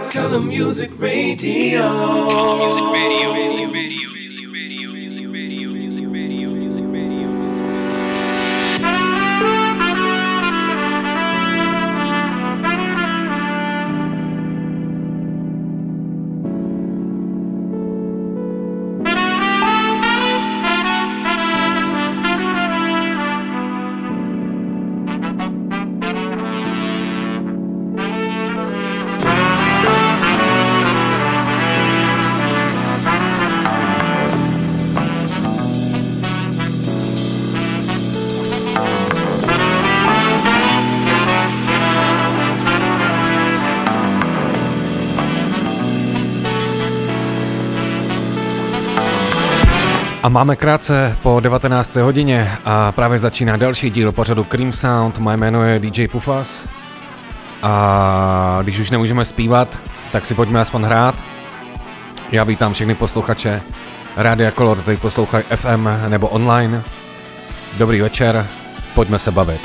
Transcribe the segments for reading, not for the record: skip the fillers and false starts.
Color Music Radio. Music Radio. A máme krátce po 19. hodině a právě začíná další díl pořadu Cream Sound. Moje jméno je DJ Pufas a když už nemůžeme zpívat, tak si pojďme aspoň hrát. Já vítám všechny posluchače Rádia Color, tady poslouchají FM nebo online. Dobrý večer, pojďme se bavit.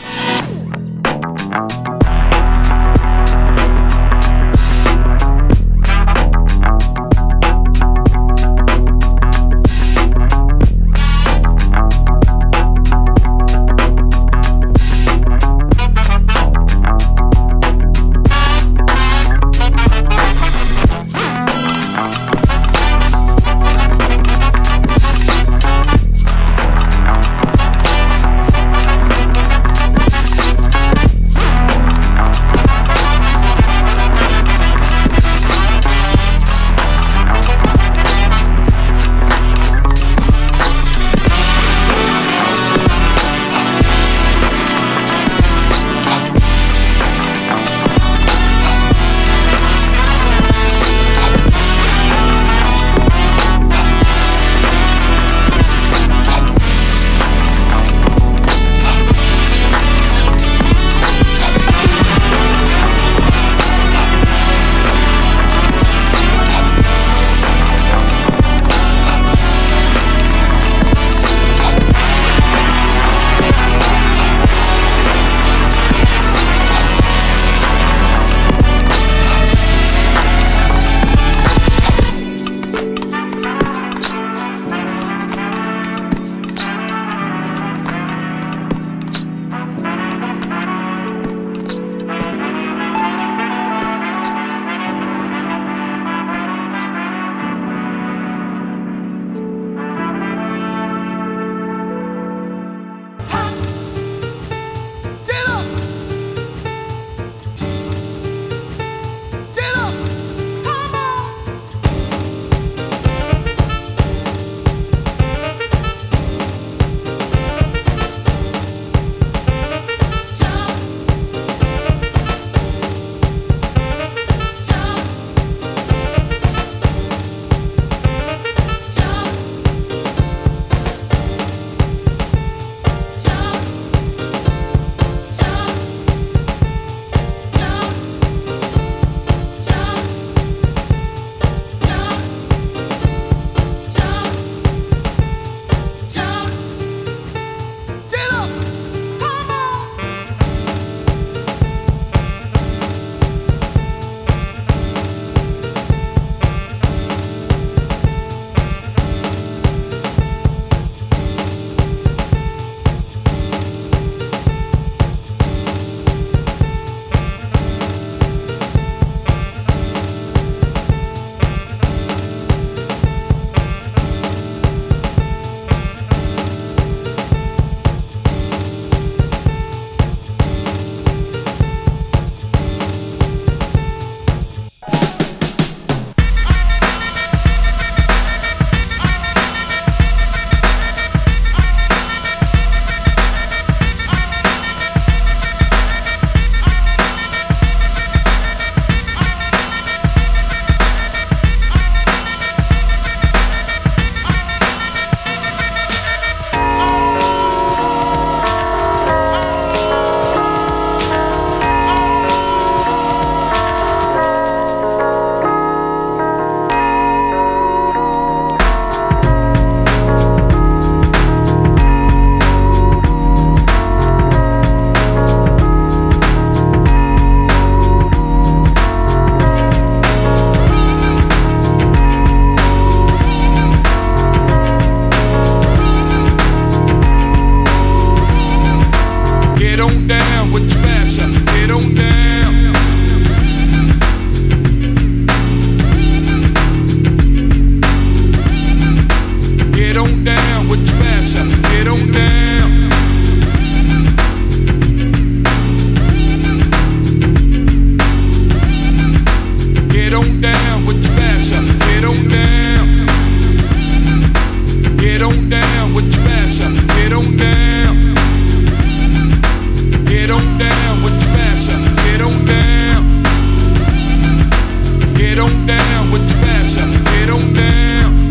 down with your master. Get on down. Get on down with your master. Get on down. Get on down with your master. Get on down. Get on down with your master. Get on down. Get on down with your master. Get on down. Get on down with your master. Get on down.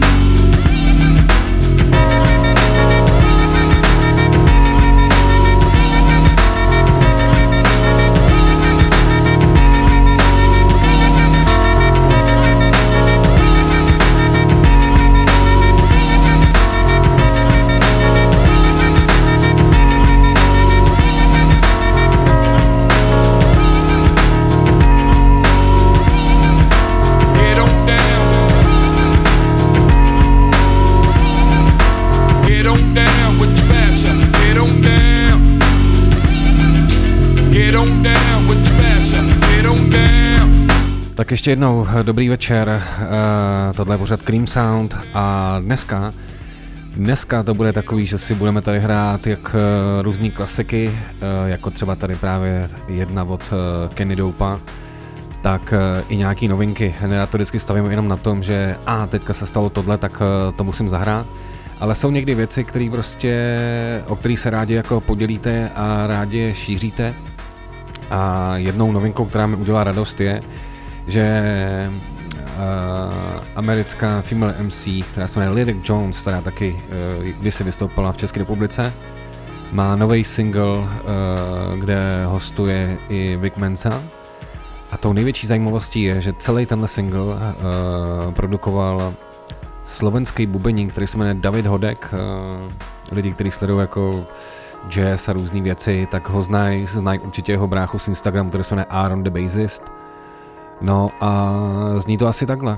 Tak ještě jednou dobrý večer, tohle je pořad Cream Sound a dneska to bude takový, že si budeme tady hrát jak různý klasiky, jako třeba tady právě jedna od Kenny Dopa, tak i nějaký novinky. Nerad to vždycky stavím jenom na tom, že teďka se stalo tohle, tak to musím zahrát. Ale jsou někdy věci, které prostě, o kterých se rádi jako podělíte a rádi je šíříte. A jednou novinkou, která mi udělá radost, je, že americká female MC, která se jmenuje Lyric Jones, která taky kdysi vystoupila v České republice, má nový single, kde hostuje i Vic Mensa. A tou největší zajímavostí je, že celý tenhle single produkoval slovenský bubeník, který se jmenuje David Hodek. Lidi, kteří sledují jako jazz a různý věci, tak ho znají určitě jeho bráchu z Instagramu, který se jmenuje Aaron the Bassist. No a zní to asi takhle.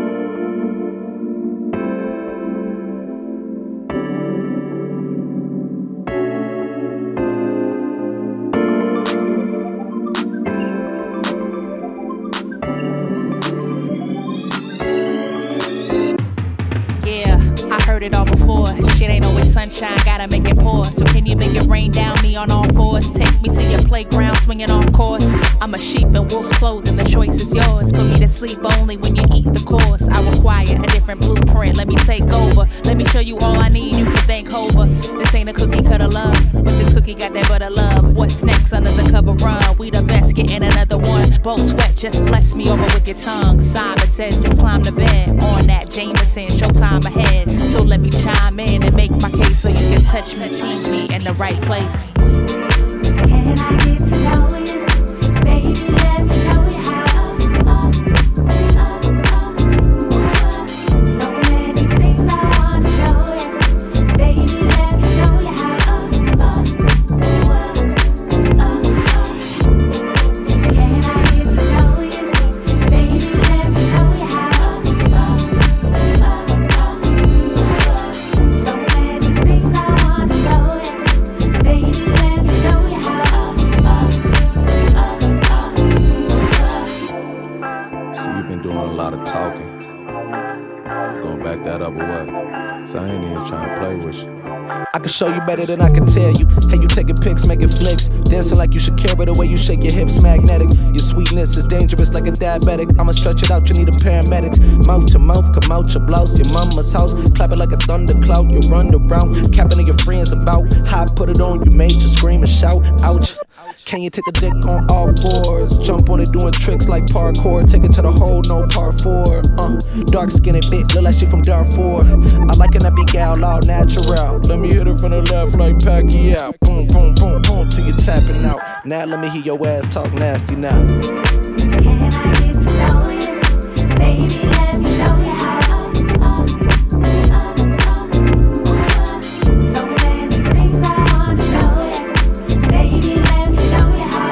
Gotta make it pour. So can you make it rain down me on all fours? Take me to your playground, swinging off course. I'm a sheep in wolf's clothing. The choice is yours. Put me to sleep only when you eat the course. I require a different blueprint. Let me take over. Let me show you all I need. You can thank Hova. This ain't a cookie cutter love, but this cookie got that butter love. What's next under the cover run? We the best, getting another one. Both sweat, just bless me over with your tongue. Simon says just climb the bed. On that Jameson, showtime ahead. So let me chime in and make my case so you can touch me, tease me in the right place. Can I get to know you? Baby, let me show you how. So many things I want to show you. Baby, let me show you how. Can I get to know you? Baby, let me show you how. So many things I want to show you. Baby, let me show you how. See, you've been doing a lot of talking. You gonna back that up or what? So I ain't even trying to play with you. I can show you better than I can tell you. Hey, you taking pics, making flicks, dancing like you should care, but the way you shake your hips magnetic. Your sweetness is dangerous like a diabetic. I'ma stretch it out, you need a paramedics. Mouth to mouth, come out your blouse, your mama's house. Clap it like a thundercloud, you run around, capping to your friends about how I put it on. You made you scream and shout, ouch. Can you take the dick on all fours? Jump on it doing tricks like parkour. Take it to the hole, no part 4. Dark skinned bitch, look like she from Darfur. I like an epic gal, all natural. Let me hit her from the left like Pacquiao. Boom, boom, boom, boom, till you tapping out. Now let me hear your ass talk nasty now. Can I get to know you? Baby, let me show you how. So many things I want to show you. Baby, let me show you how.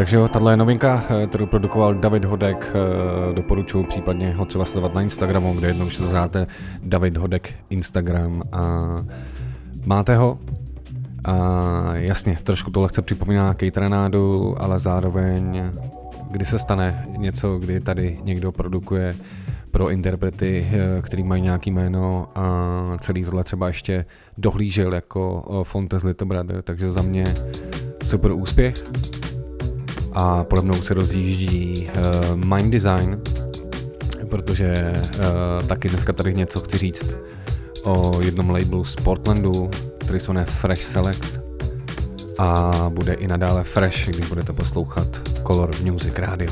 Takže jo, tahle je novinka, kterou produkoval David Hodek, doporučuji případně ho třeba sledovat na Instagramu, kde jednou se zahráte David Hodek Instagram a máte ho. A jasně, trošku to lehce připomíná Kejtranádu, ale zároveň, kdy se stane něco, kdy tady někdo produkuje pro interprety, který mají nějaký jméno a celý tohle třeba ještě dohlížel jako Fontes Little Brother, takže za mě super úspěch. A pode mnou se rozjíždí Mind Design, protože taky dneska tady něco chci říct o jednom labelu z Portlandu, který se jmenuje Fresh Selects a bude i nadále fresh, když budete poslouchat Color Music Radio.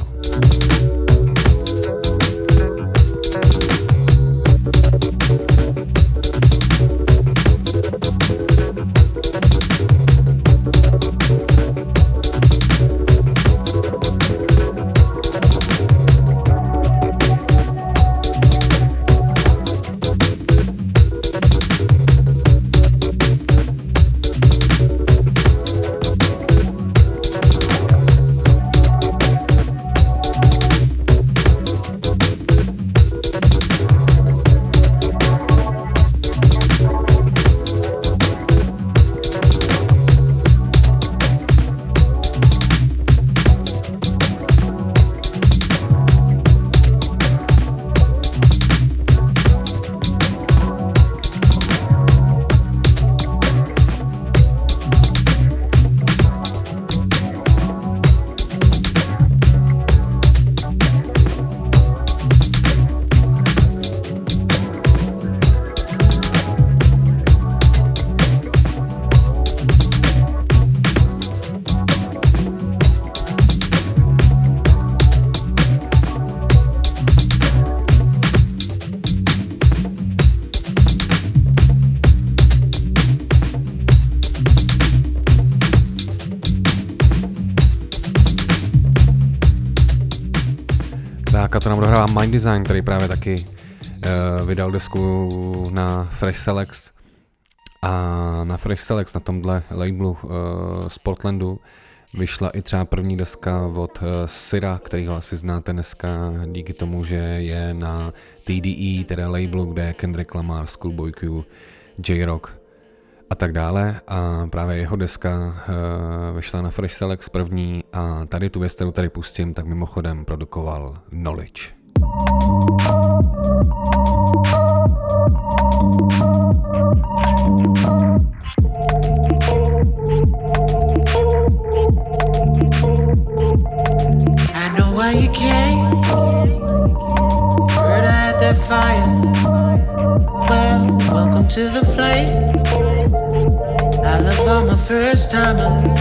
To nám dohrává Mind Design, který právě taky vydal desku na Fresh Selects a na Fresh Selects, na tomhle labelu z Portlandu vyšla i třeba první deska od Syra, kterýho asi znáte dneska díky tomu, že je na TDE, teda labelu, kde je Kendrick Lamar, Schoolboy Q, J-Rock a tak dále a právě jeho deska vyšla na Fresh Selects první a tady tu věc, kterou tady pustím, tak mimochodem produkoval Knowledge. I know why you came. Heard I had that fire. Well, welcome to the flame. I love all my first timers.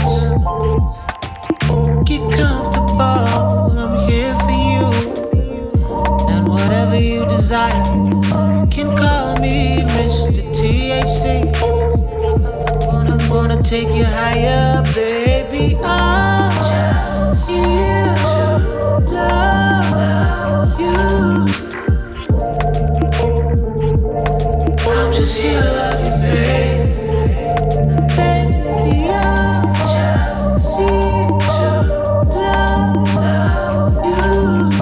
Get comfortable, I'm here for you. And whatever you desire, you can call me Mr. THC. I'm gonna take you higher, baby. I'm just here to love you. I'm just here to love you, babe. Baby, I'm just here to love you.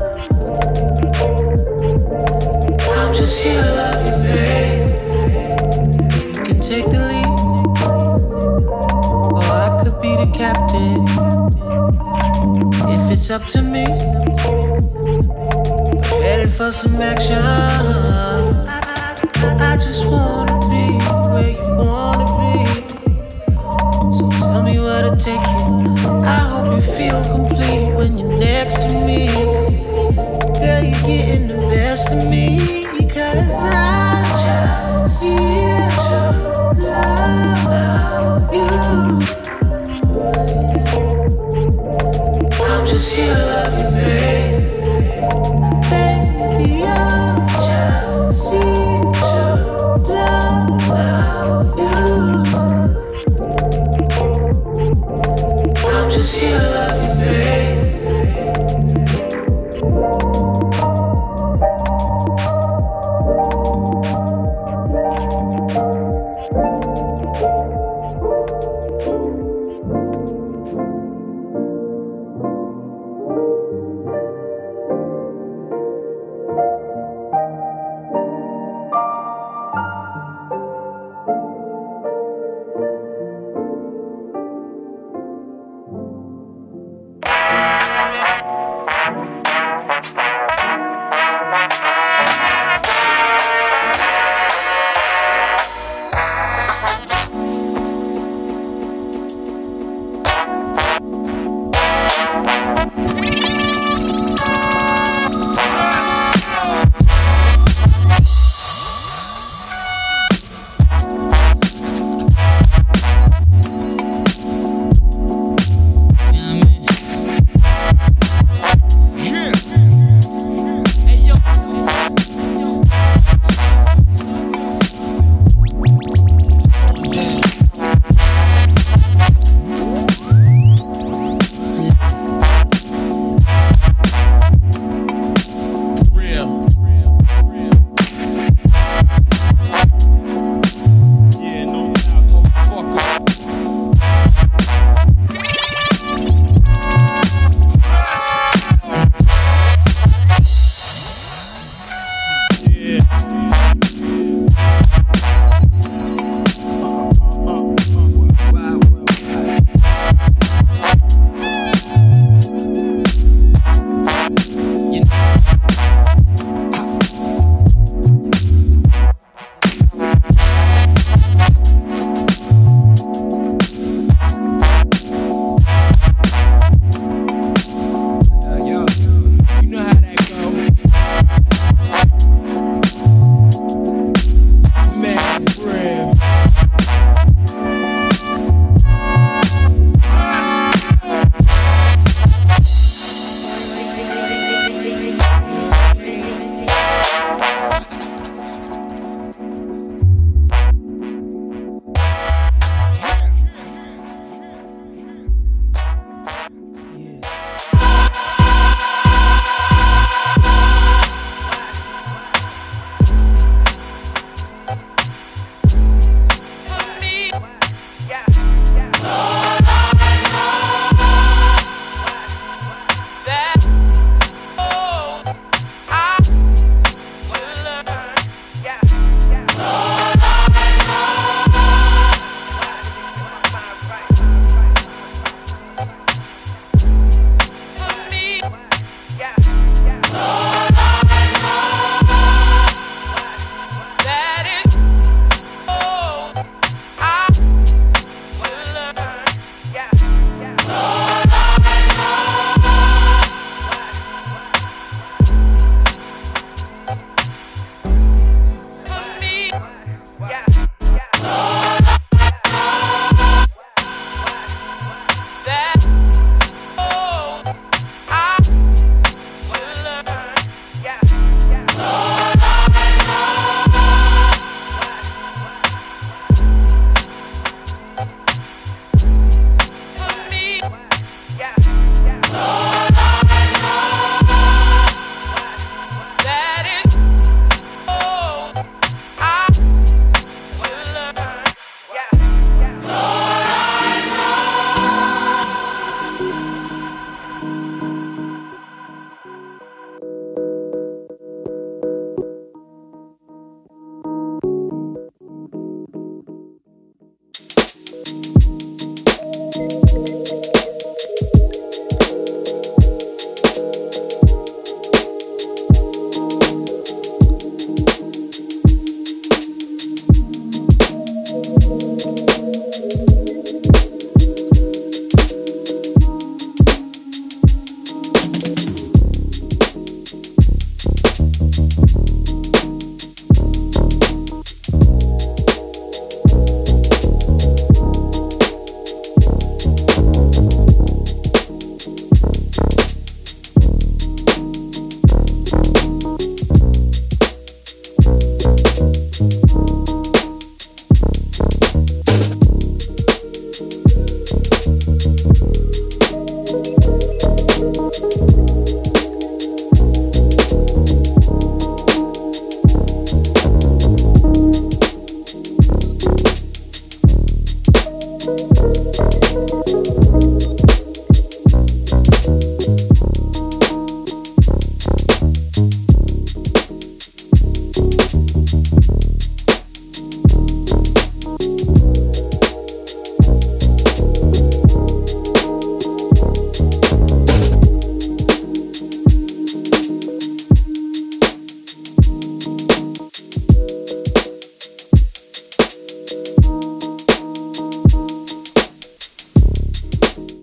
I'm just here to love you, babe. You can take the lead, or I could be the captain. If it's up to me, we're headed for some action. I just wanna be where you wanna be. So tell me where to take you. I hope you feel complete when you're next to me. Girl, you're getting the best of me. Cause I'm just here to love you. I'm just here to love you, babe. Baby, I'm just here to love you. I'm just here to love you, babe.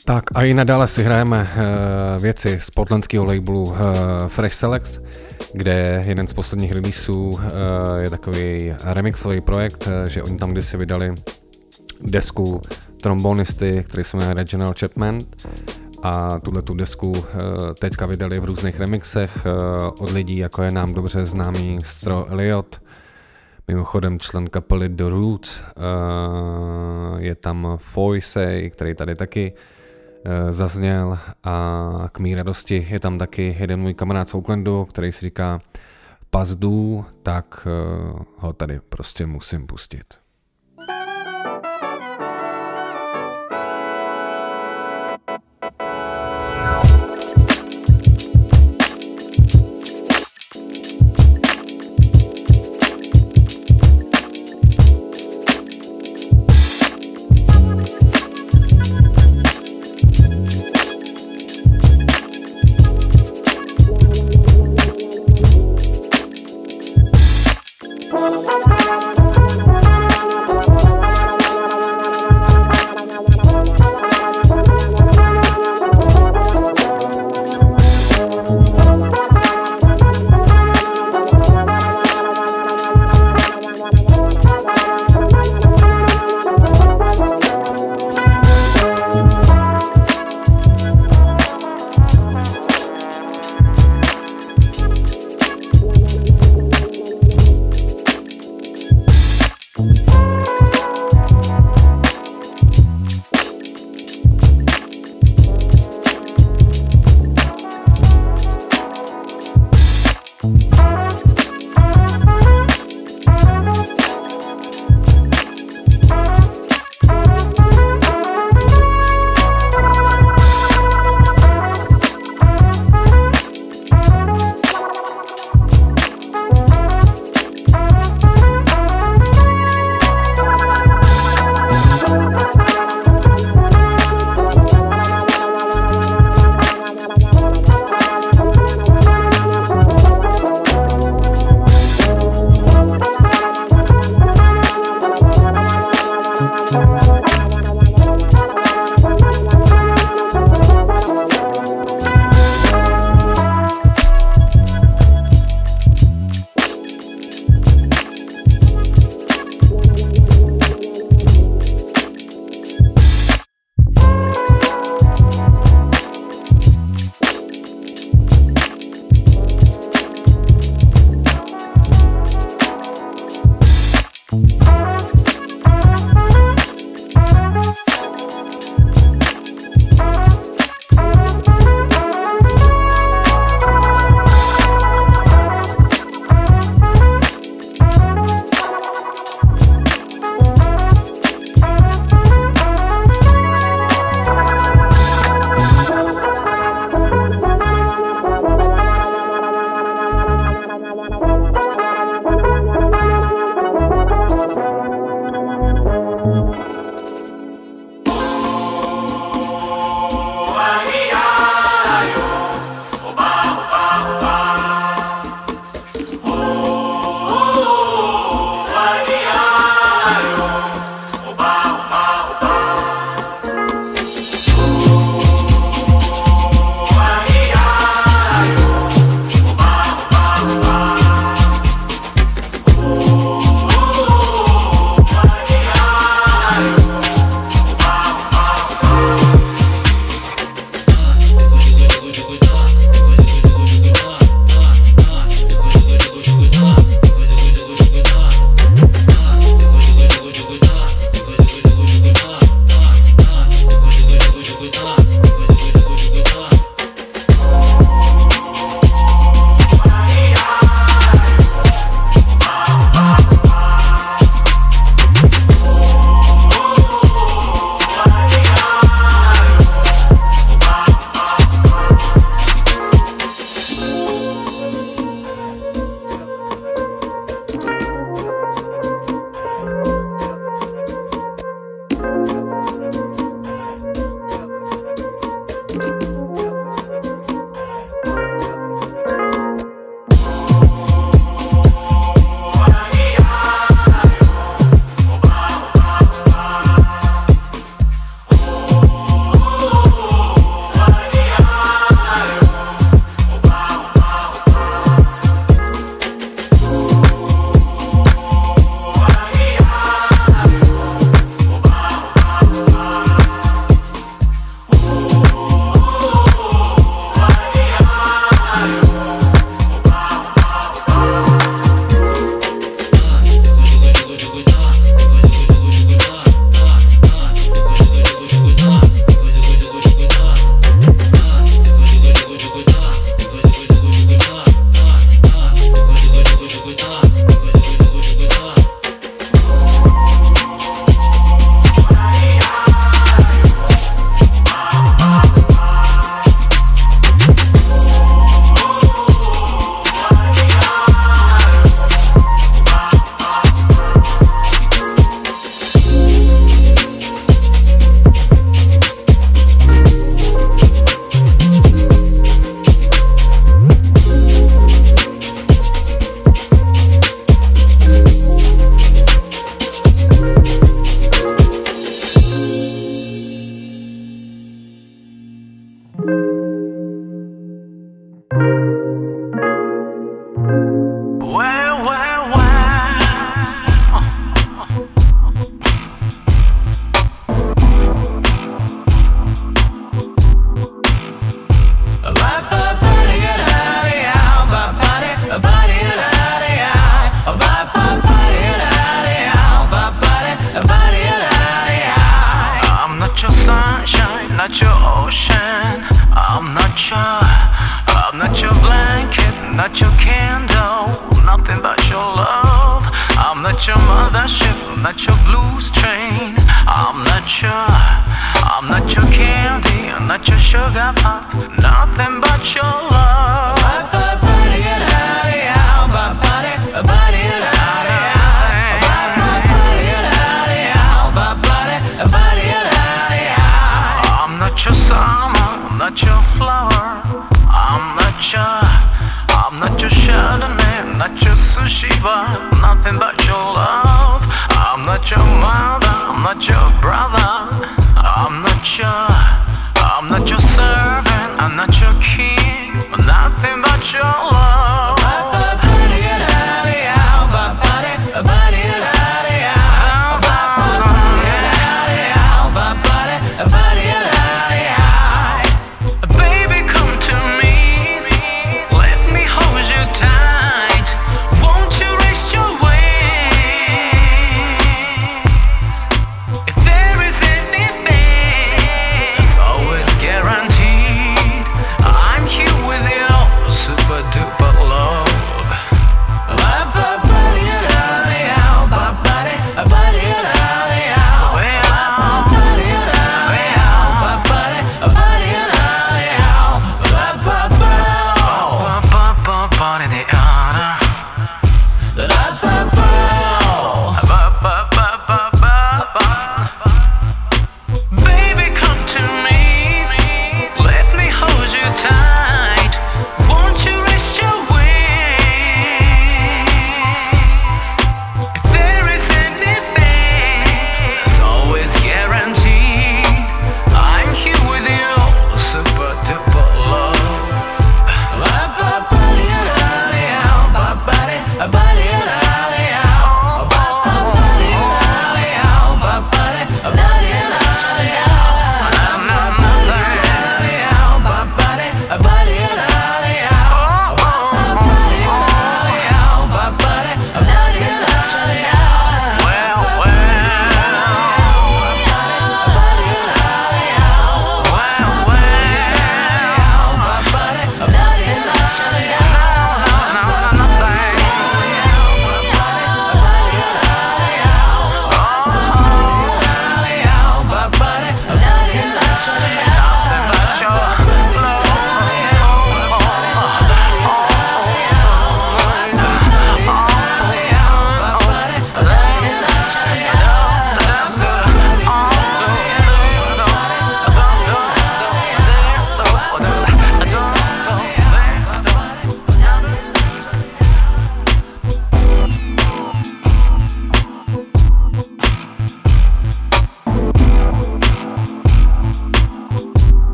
Tak a i nadále si hrajeme věci z portlandského labelu Fresh Selects, kde jeden z posledních releaseů je takový remixový projekt, že oni tam kdysi vydali desku trombonisty, který se jmenuje Reginald Chapman, a tu desku teďka vydali v různých remixech od lidí, jako je nám dobře známý Stro Elliott, mimochodem člen kapely The Roots, je tam Foysey, který tady taky zazněl, a k mý radosti je tam taky jeden můj kamarád z Oaklandu, který si říká Pazdu, tak ho tady prostě musím pustit. mothership, I'm not your blues train. I'm not your candy, I'm not your sugar pop, nothing but your love. I'm not your summer, I'm not your flower. I'm not your Chardonnay, I'm not your sushi bar, nothing but your love. I'm not your mother, I'm not your brother. I'm not your servant, I'm not your king, nothing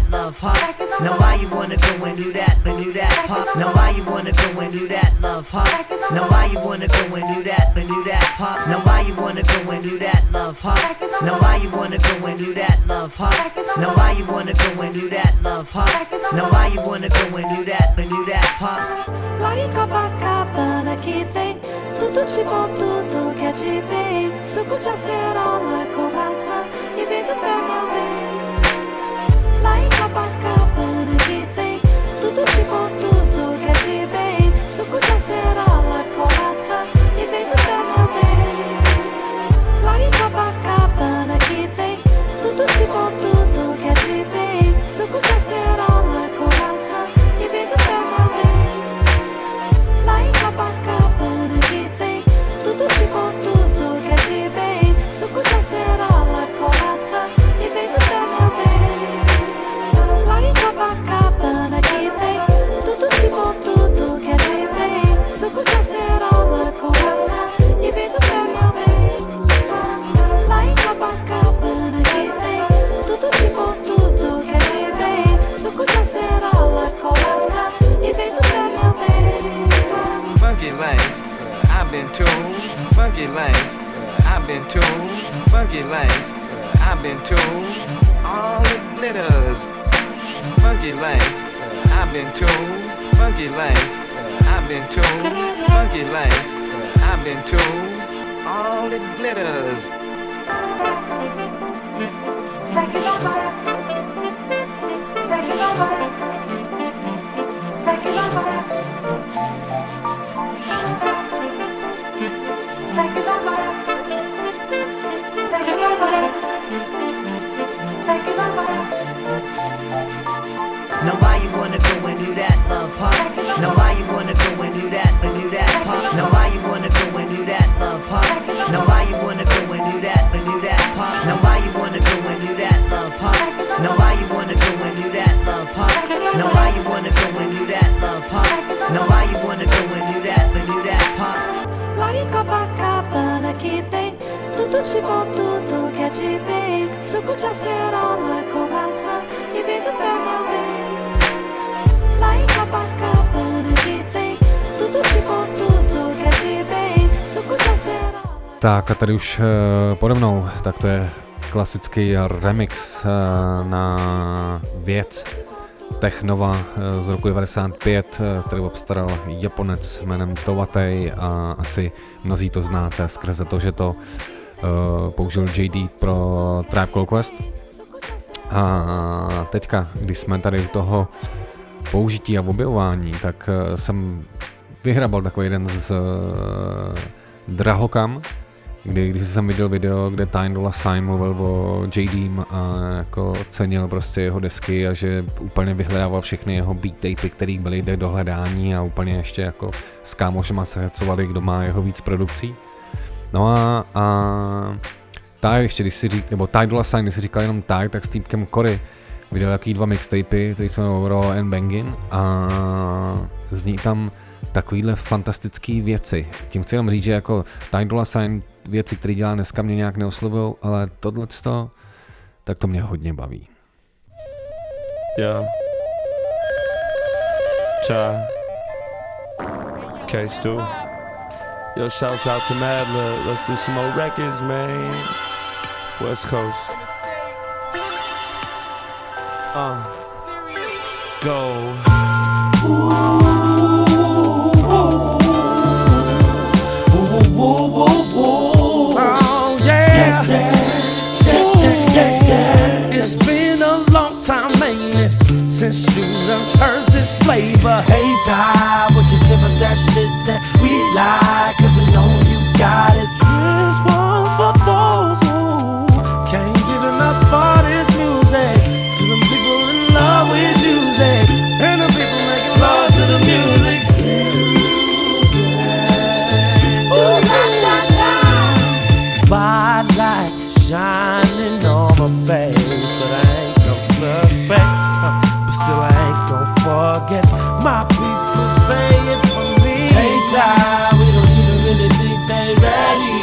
love, huh? Now why you wanna go and do that, huh? Now why you wanna go and do that, love, huh? Now why you wanna go and do that, huh? Now why you wanna go and do that, love, huh? Now why you wanna go and do that, love, huh? Now why you wanna go and do that, love, huh? Now why you wanna go and do that, huh? Lá em Copacabana que tem tudo de bom, tudo que é de bem. Suco de acerola com maçã e vem do pé, meu bem. Lá em Copacabana que tem tudo de bom, tudo que é de bem. Suco de acerola com maçã e vem do pé, meu bem. Lá em Copacabana que tem tudo de bom, tudo que é de bem. Suco de acerola com maçã e vem do pé, meu bem. Lá em Copacabana que tem tudo de bom, tudo que é de bem. Suco de acerola com maçã e vem do pé, meu bem. Lá em Copacabana que tem tudo de bom, tudo que é de bem. Suco de acerola com maçã e vem do pé, meu bem. Lá em Copacabana que tem tudo de bom, tudo que é de bem. Suco de acerola com maçã e vem do pé, meu bem. Funky life, I've been told. Funky life, I've been told. Funky life, I've been told. All it glitters. Funky life, I've been told. Funky life, I've been told. Funky life, I've been told. All it glitters. Take it over. Take it over. Take it over. Take it over. Take it over. Take it over. Now why you wanna go and do that, love, huh? Now why you wanna go and do that, huh? Now why you wanna go and do that, love, huh? Now why you wanna go and do that, huh? Now why you wanna go and do that, love, huh? Now why you wanna go and do that, love, huh? Now why you wanna go and do that, love, huh? Now why you wanna go and do that, huh? Lá em Copacabana que tem tudo de bom, tudo que é de bem. Suco de acerola com maçã e vem do pé, meu bem. Lá em Copacabana que tem tudo de bom, tudo que é de bem. Suco de acerola. Tak a tady už pode mnou, tak to je klasický remix na věc Technova z roku 95, který obstaral Japonec jménem Towatei a asi mnozí to znáte skrze to, že to použil JD pro Tribe Called Quest. A teďka, když jsme tady u toho použití a objevování, tak jsem vyhrabal takový jeden z Drahokam, když jsem viděl video, kde Ty Dolla $ign mluvil o JDM a jako cenil prostě jeho desky a že úplně vyhledával všechny jeho beat tapy, který byly jde do hledání a úplně ještě jako s kámošema se hecovali, kdo má jeho víc produkcí. No a Ty ještě, když si nebo Ty Dolla $ign, když si říkal jenom Ty, tak s týpkem Cory vydal jaký 2 mixtapy, který se jmenují Raw and Bangin a zní tam takovýhle fantastický věci. Tím chci jenom říct, že jako Ty Dolla $ign věci, které dělá dneska, mě nějak neoslovujou, ale tohleto, tak to mě hodně baví. Yeah. Try. K-Stu. Yo, shouts out to Madlib. Let's do some more records, man. West Coast. Go. Oh yeah. It's been a long time, ain't it, since you done heard this flavor. Hey Ty, would you give us that shit that we like? 'Cause we know you got it. This one's for those who can't get enough of this music. To them people in love with music, and the people making love to the music. Spotlight shining on my face, but I ain't no suspect. But still I ain't gon' forget my people say it for me. Hey Ty, we don't even really think they ready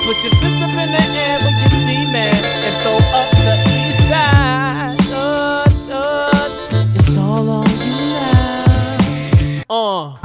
Put your fist up in the air when you see me, and throw up the east side. It's all on you now.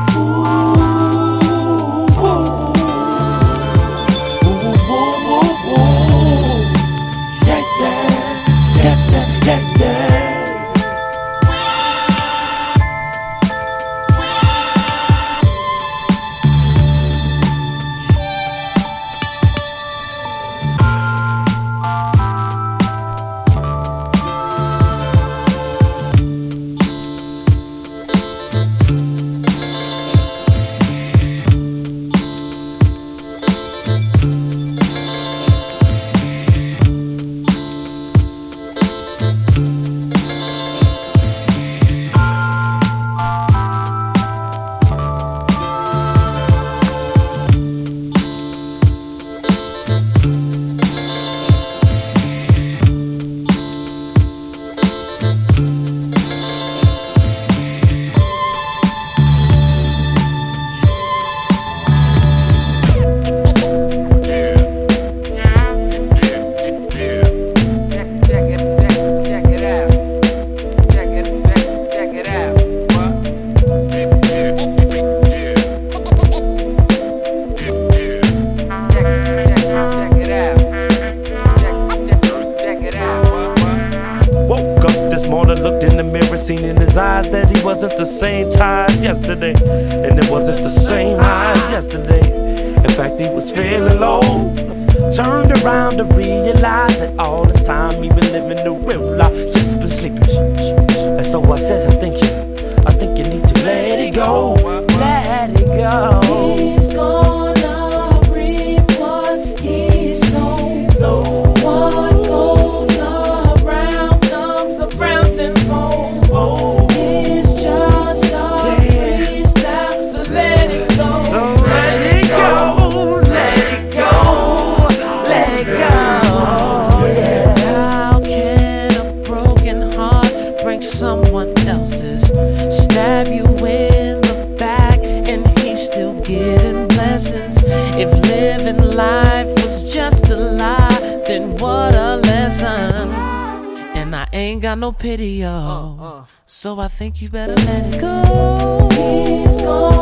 So I think you better let it go. He's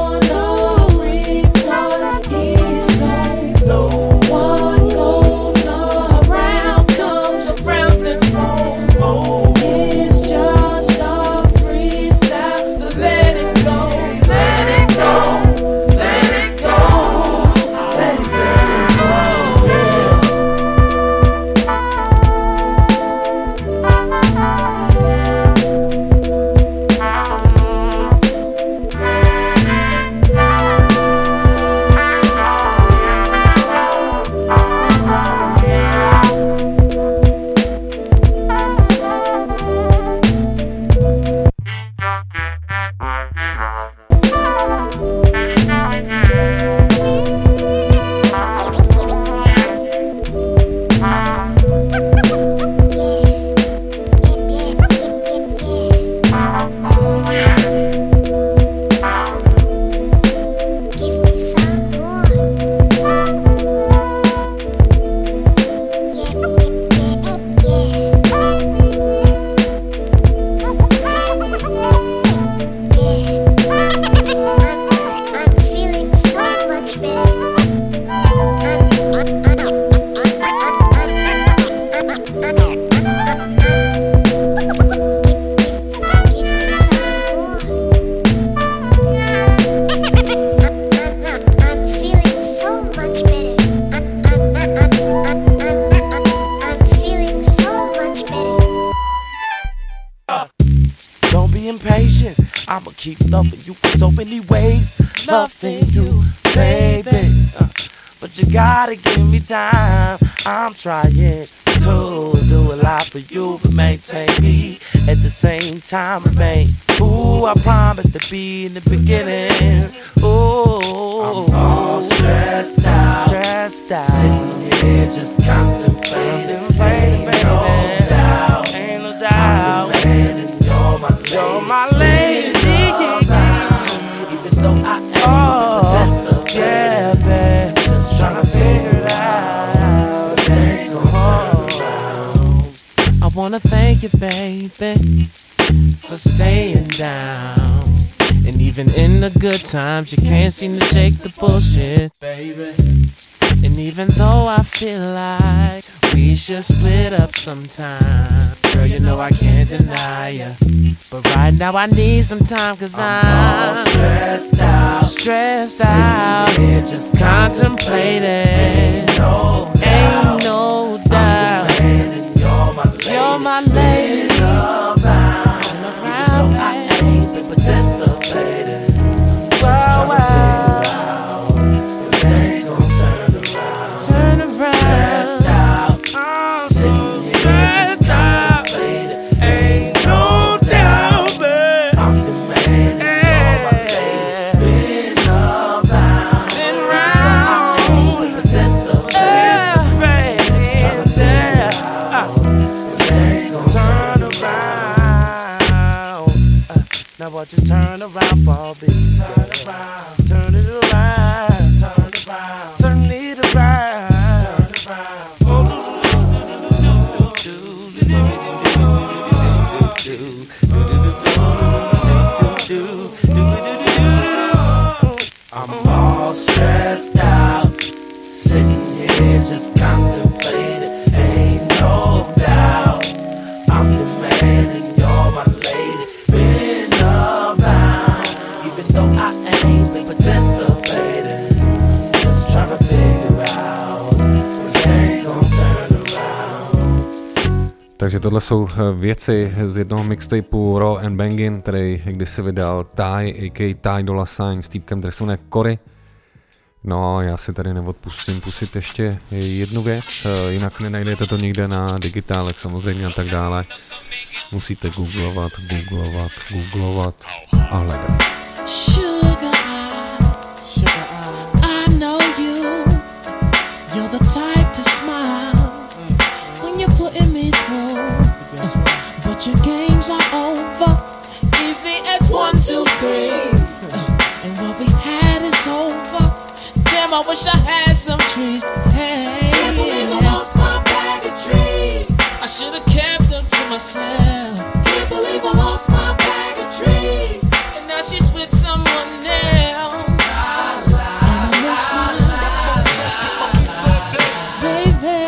gonna reap what he sows. What goes around comes around tenfold. It's just a freestyle, so let it go, let it go, let it go, let it go. I'ma keep loving you in so many ways, loving you, baby. But you gotta give me time. I'm trying to do a lot for you, but maintain me at the same time. Remain who I promised to be in the beginning. Ooh, I'm all stressed out, sitting here just contemplating. Ain't no doubt, ain't no doubt. I'm the man and you're my lady. Even though I am a possessor, yeah, babe. Just tryna figure it out. wanna thank you, baby, for staying down. And even in the good times, you can't seem to shake the bullshit, baby. And even though I feel like we should split up sometime, girl, you know I can't deny ya. But right now I need some time, cause I'm all stressed out, just contemplating. Ain't no doubt, you're my lady. Around, I ain't been participating. Turn around, stressed out, sitting here just contemplating. Ain't no doubt, babe, I'm the man, you're my lady. Been around, I ain't been participating. Things gon' turn around. Now what, just turn around for me. Turn it around. Turn it around. I'm all stressed out, sitting here just contemplating. Ain't no doubt, I'm the man and you're my lady. Been around, even though I ain't been participating. Just trying to figure out when things gon' turn around. Takže tohle jsou věci z jednoho mixtapeu Raw and Bangin, který kdysi vydal Ty, a.k.a. Ty Dolla Sign s týpkem, který se jmenuje Cory. No, já si tady neodpustím pustit ještě jednu věc, jinak nenajdete to nikde na digitálech samozřejmě a tak dále. Musíte googlovat a hledat. I know you're the type to smile when you're putting me through, but your games are over, easy as 1, 2, 3, and what we had is over. Damn, I wish I had some trees. Hey, can't believe I lost my bag of trees. I should've kept them to myself. Can't believe I lost my bag of trees, and now she's with someone else. And I miss my baby.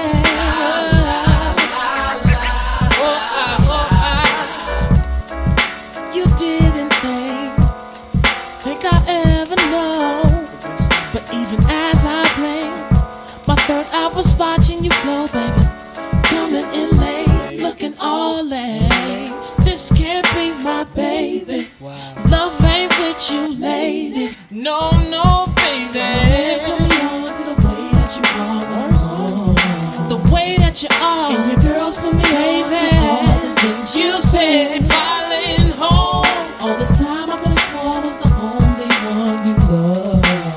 You didn't think I ever know. But even as I played, my third eye was watching you flow, baby. Coming in late, looking all late. This can't be my baby. Love ain't with you, lady. No, baby. So hands put me on to the way that you are, the way that you are. And your girls put me on to all the things you said. Falling home. All this time I could've sworn was the only one you loved.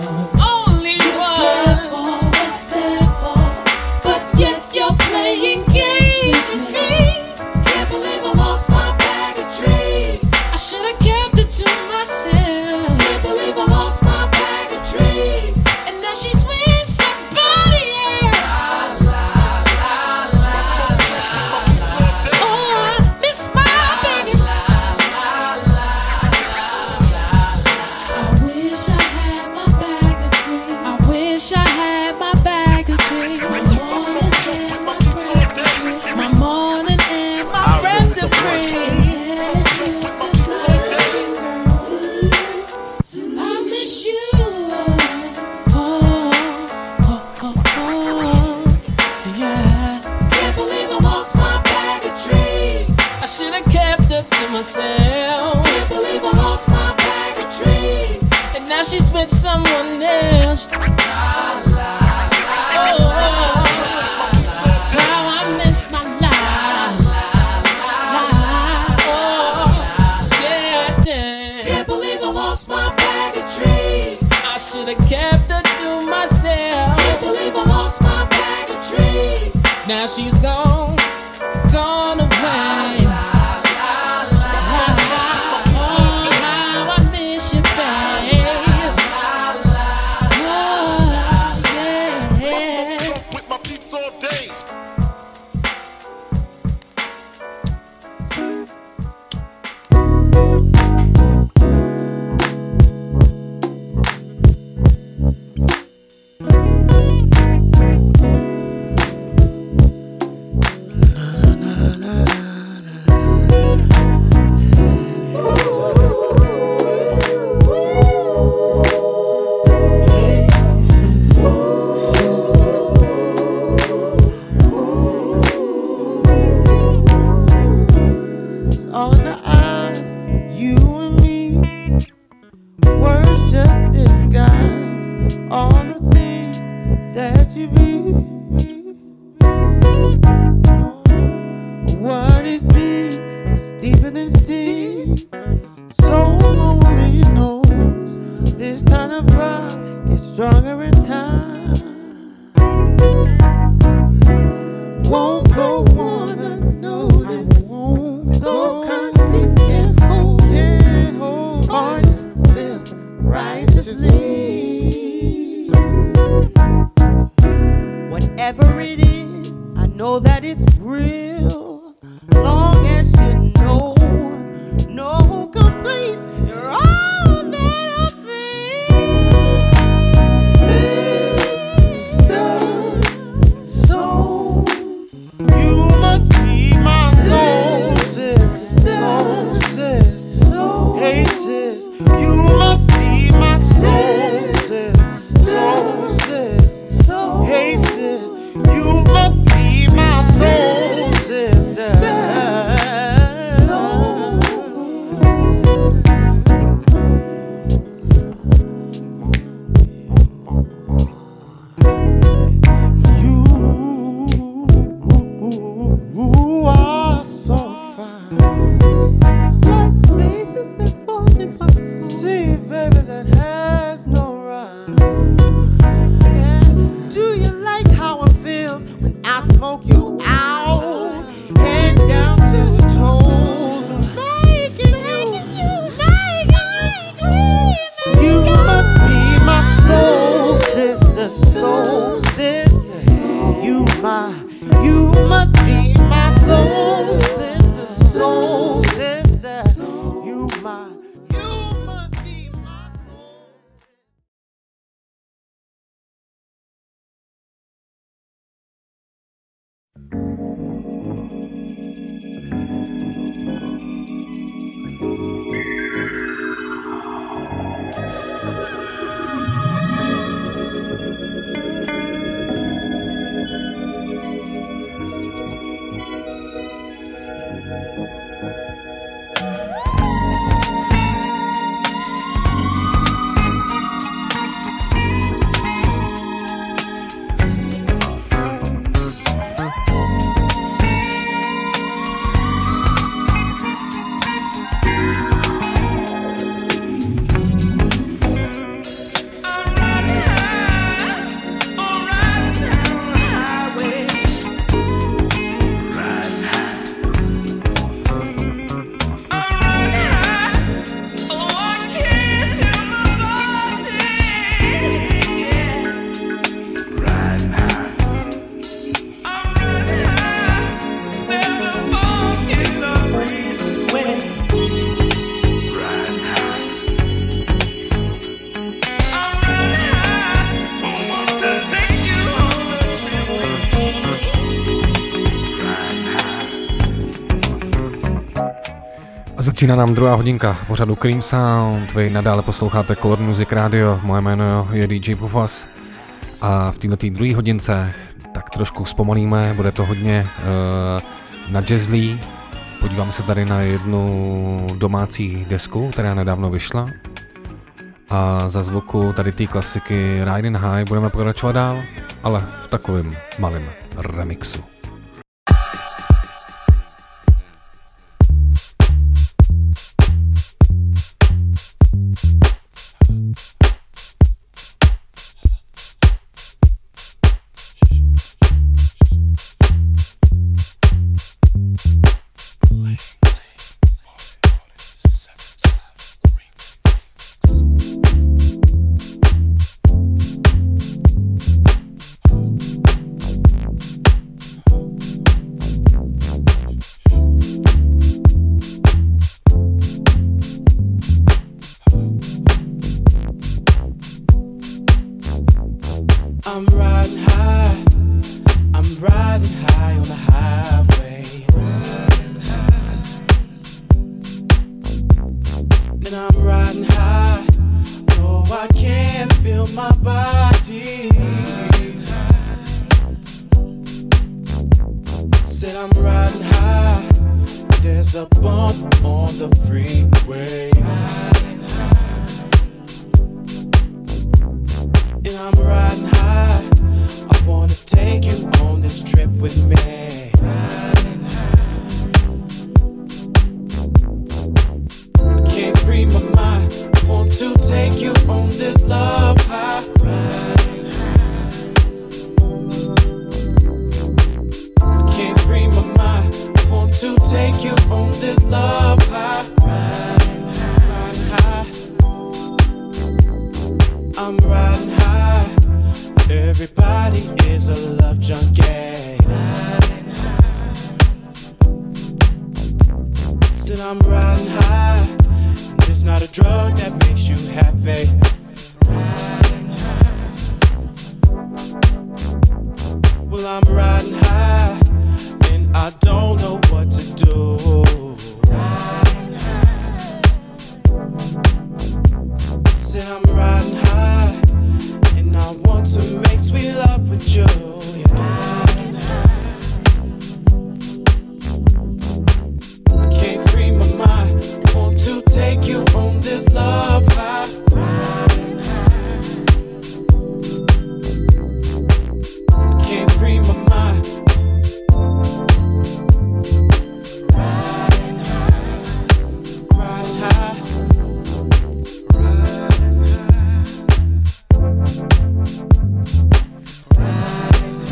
Can't believe I lost my bag of trees, and now she's with somebody else. Oh, I miss my baby. I wish I had my bag of trees. I wish I had my bag of trees. My morning and my breath to breathe. Myself. Can't believe I lost my bag of trees, and now she's with someone else. How I miss my life. Oh, yeah. Can't believe I lost my bag of trees. I should've kept her to myself. Can't believe I lost my bag of trees. Now she's gone away. stronger in time. Won't go on unnoticed. So concrete can hold hearts filled righteously. Whatever it is, I know that it's real. Long as you know, no complaints. You're all that I feel. Soul, you must be my soul, sis. Soul, sis. Hey, sis, you must be my soul, sis. Soul, sis. Hey, sis, you must be my soul, sister. You are so fine. Like spaces that fall in my soul. See, baby, that has no rhyme. Do you like how it feels when I smoke you out? Head down to the toes, making you must be my soul sister, soul sister. You must be my soul sister, soul sister. You must be my soul. Začíná nám druhá hodinka pořadu Cream Sound, vy nadále posloucháte Color Music Radio, moje jméno je DJ Pufas a v této druhé hodince tak trošku zpomalíme, bude to hodně na jazzlí, podíváme se tady na jednu domácí desku, která nedávno vyšla a za zvuku tady té klasiky Riding High budeme pokračovat dál, ale v takovém malém remixu. Free my mind, I want to take you on this love high. take you on this love high. Riding high. I'm riding high. Everybody is a love junkie. Riding high. Said I'm riding high. It's not a drug that makes you happy. Riding high. Well, I'm riding high, and I don't know what to do. Riding high. Said I'm riding high, and I want to make sweet love with you. Yeah. Riding high. I can't free my mind. Want to take you on this love high. Riding high. Can't free my mind. Riding high. Riding high. Riding high. Riding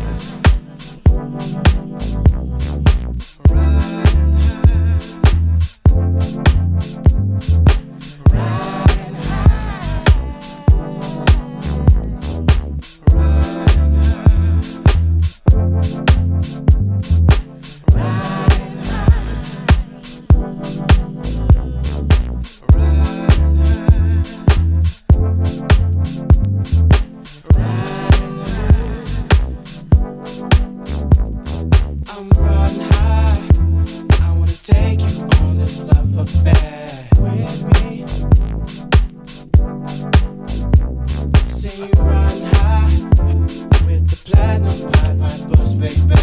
I'm riding high. I wanna take you on this love affair with me. See you riding high with the platinum pipers, baby.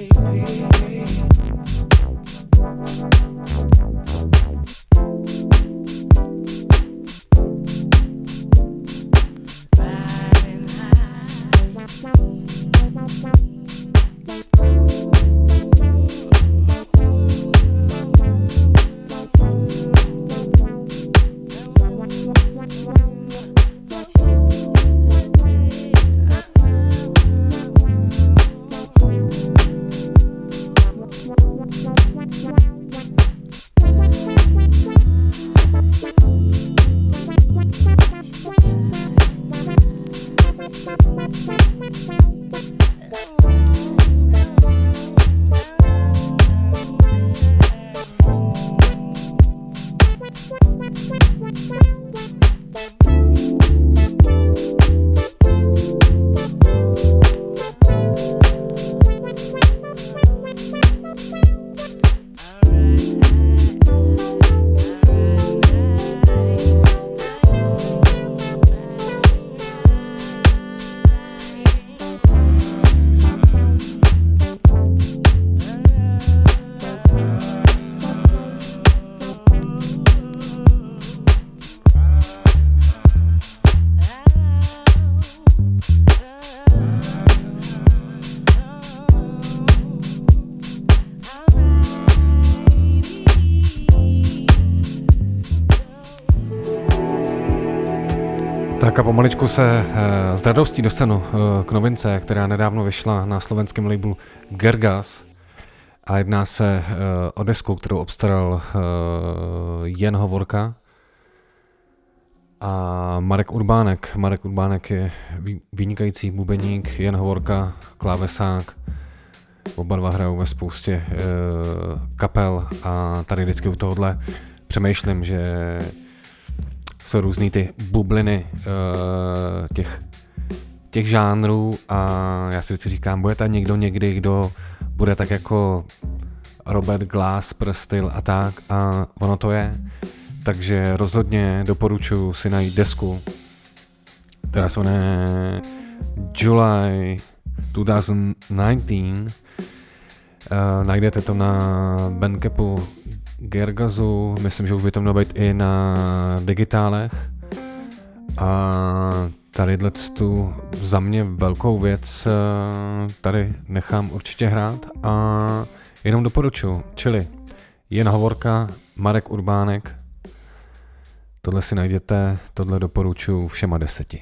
Tak a pomaličku se s radostí dostanu k novince, která nedávno vyšla na slovenském labelu Gergas a jedná se o desku, kterou obstaral Jen Hovorka a Marek Urbánek. Marek Urbánek je vynikající bubeník, Jen Hovorka klávesák. Oba dva hrajou ve spoustě kapel a tady vždycky u tohohle přemýšlím, že jsou různý ty bubliny těch žánrů a já si vždycky říkám, bude tam někdo někdy, kdo bude tak jako Robert Glass, Prstil a tak a ono to je. Takže rozhodně doporučuji si najít desku, která se jmenuje July 2019. Najdete to na Bandcampu Gergazu, myslím, že už by to mělo být i na digitálech. A tadyhle tu za mě velkou věc tady nechám určitě hrát a jenom doporučuji, čili Jen Hovorka, Marek Urbánek, tohle si najděte, tohle doporučuji všema 10.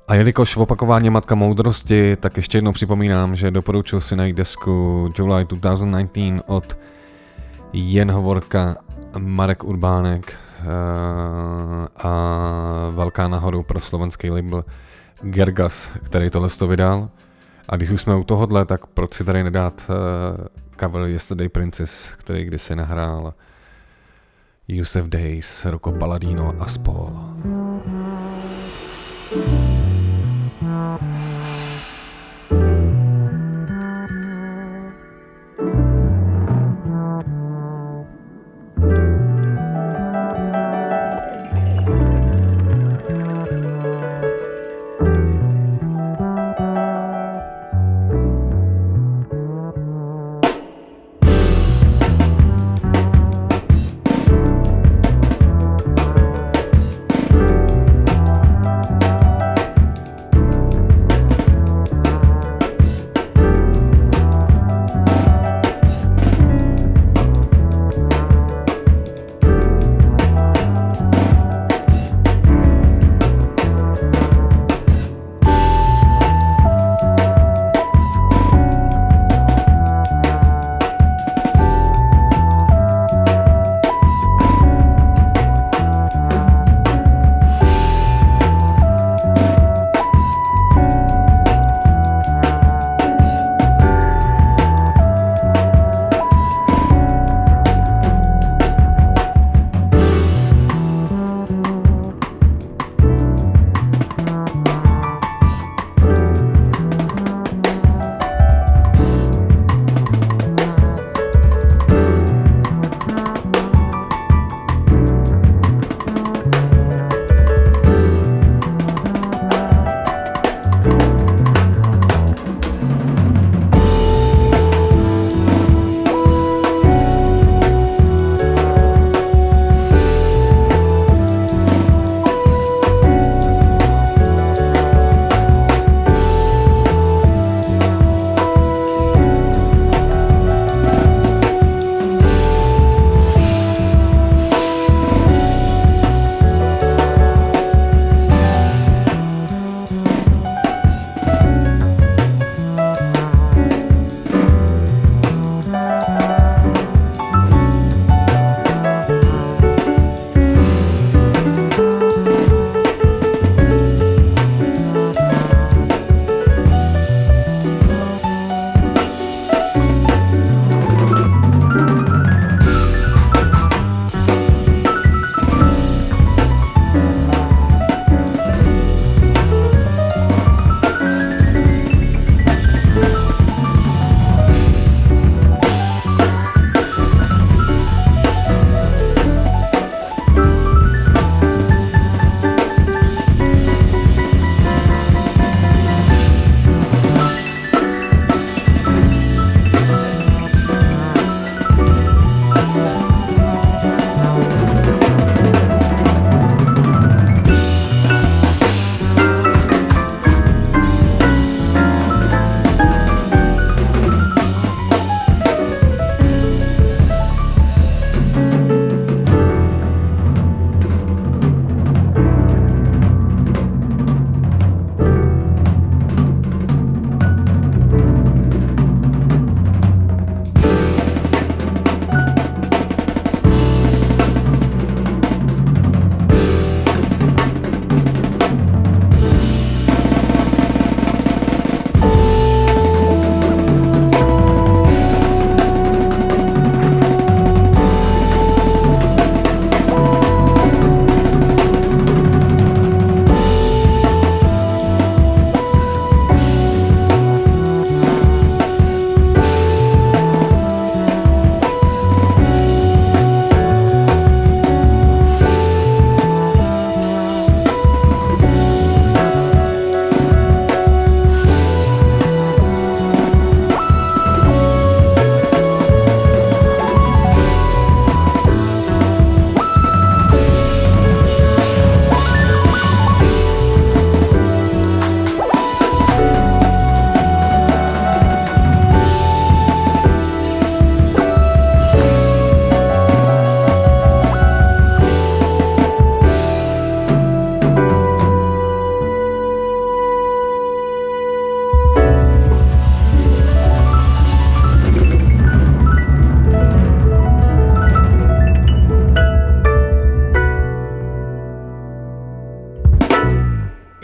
A jelikož v opakování matka moudrosti, tak ještě jednou připomínám, že doporučuji si najít desku July 2019 od Jen Hovorka, Marek Urbánek a velká nahoru pro slovenský label Gergas, který tohle to vydal. A když už jsme u tohohle, tak proč si tady nedát cover Yesterday Princess, který kdysi nahrál Yusef Days, Rocco Palladino a spol.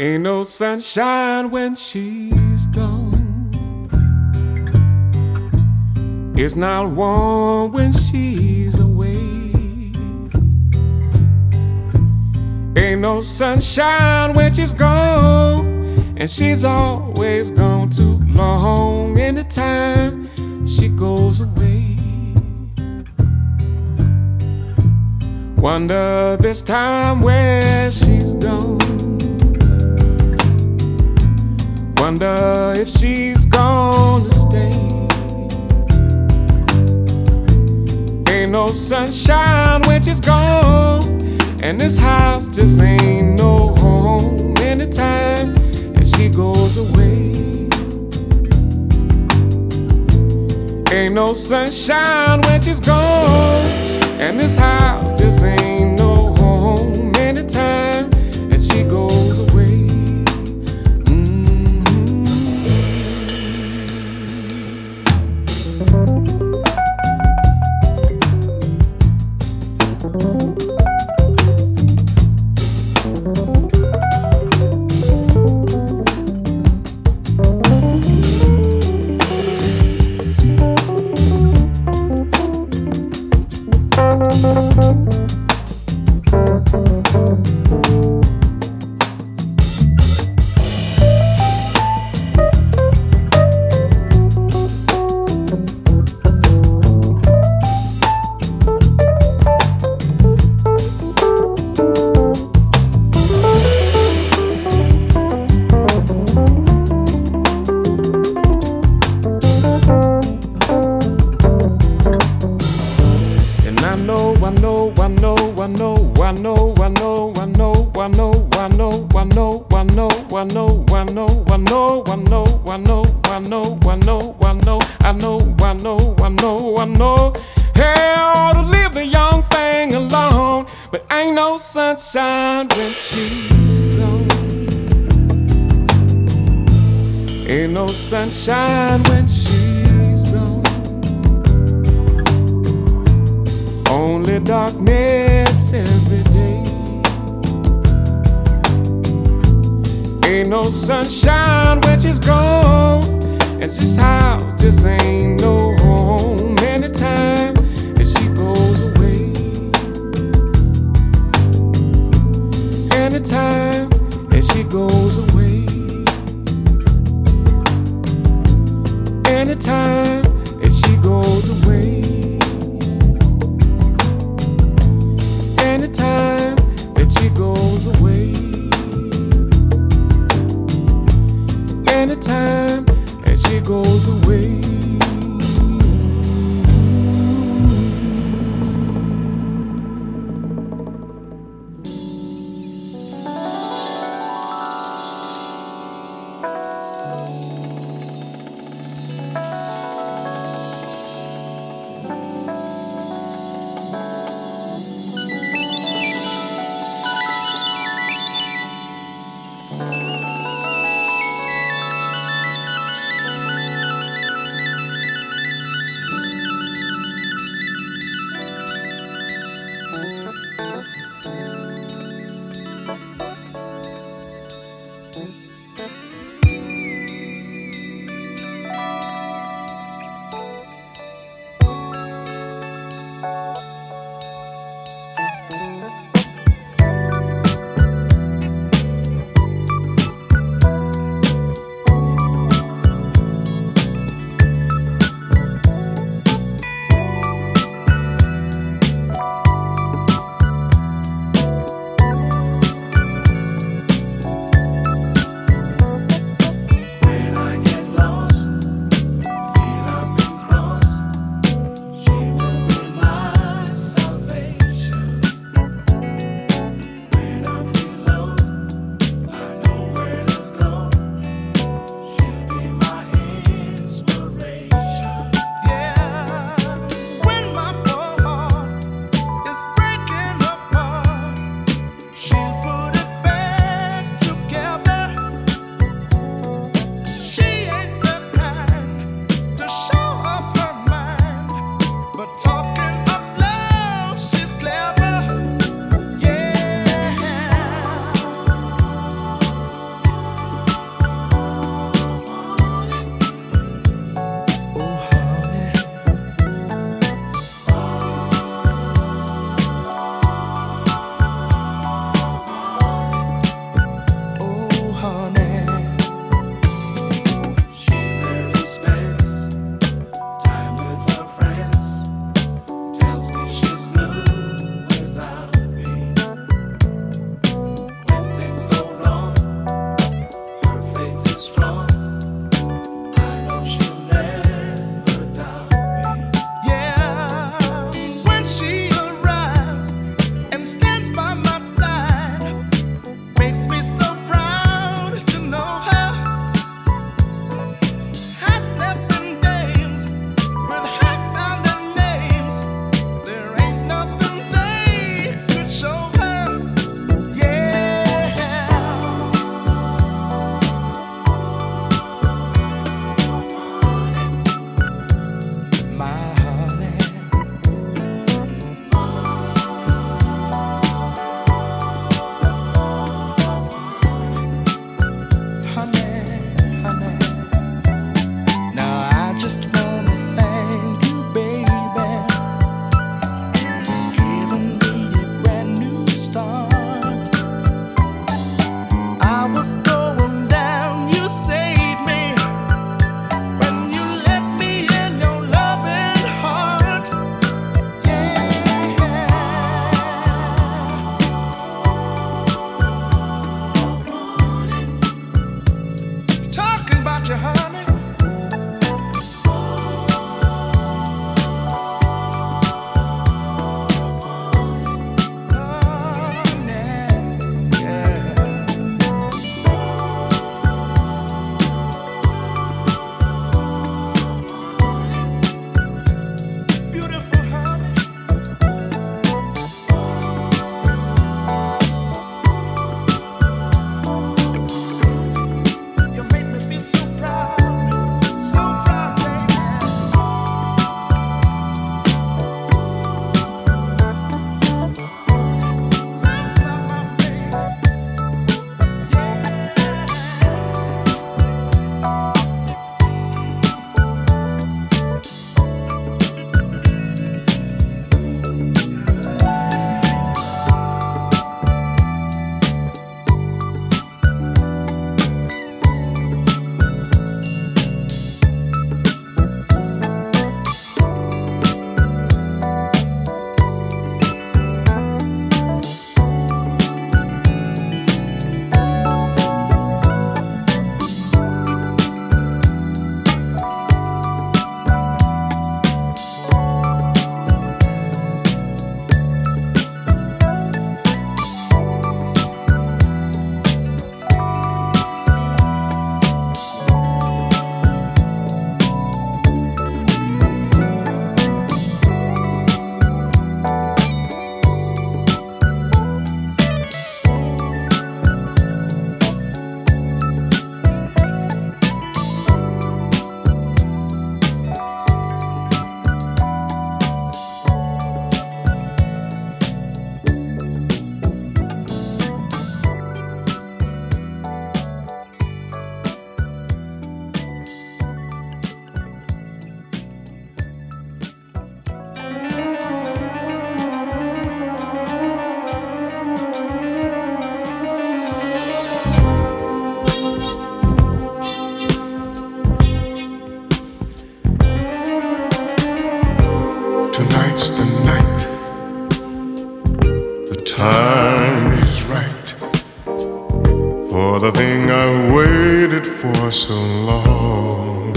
Ain't no sunshine when she's gone. It's not warm when she's away. Ain't no sunshine when she's gone, and she's always gone too long. Anytime she goes away, wonder this time where she's gone. Wonder if she's gonna stay. Ain't no sunshine when she's gone, and this house just ain't no home. Anytime that she goes away, ain't no sunshine when she's gone, and this house just ain't no home. Anytime that she goes away. Sunshine when she's gone. Ain't no sunshine when she's gone. Only darkness every day. Ain't no sunshine when she's gone, and this house just ain't no home. Anytime that she goes away, anytime that she goes away, anytime that she goes away, anytime that she goes away, anytime that she goes away. for the thing I've waited for so long.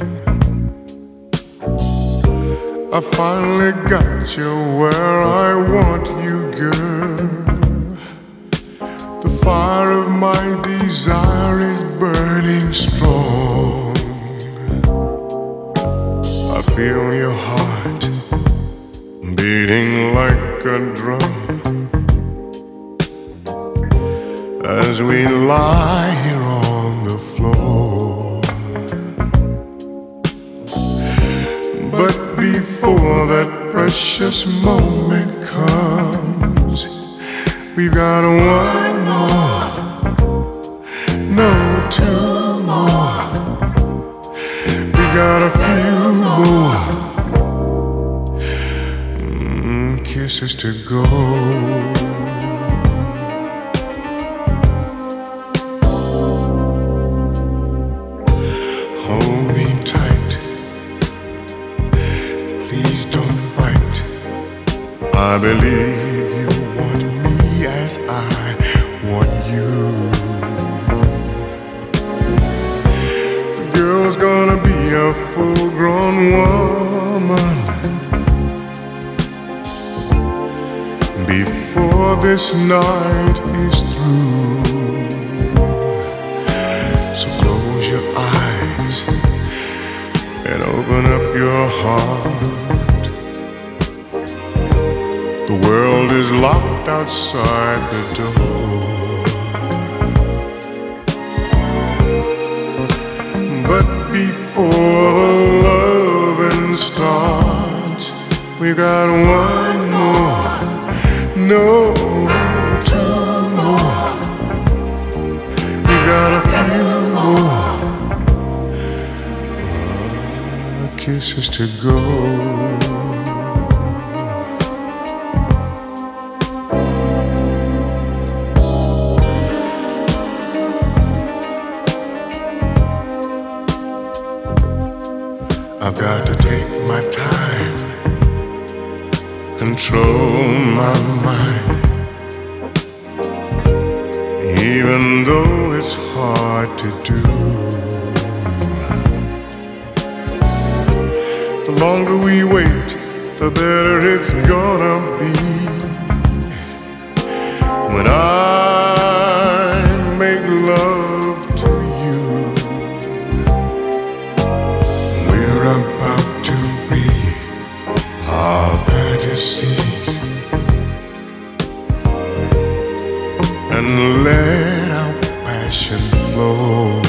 I finally got you where I want you, girl. The fire of my desire is burning strong. I feel your heart beating like a drum as we lie here on the floor. But before that precious moment comes, we've got one more, no, two more. We got a few more kisses to go. Hold me tight, please don't fight. I believe you want me as I want you. The girl's gonna be a full-grown woman before this night is through. So close your eyes and open up your heart. The world is locked outside the door. But before loving starts, we got one more, no, two more. We got a few more kisses to go. I've got to take my time, control my mind, even though it's hard to do. The longer we wait, the better it's gonna be. When I make love to you, we're about to free our fantasies and let our passion flow.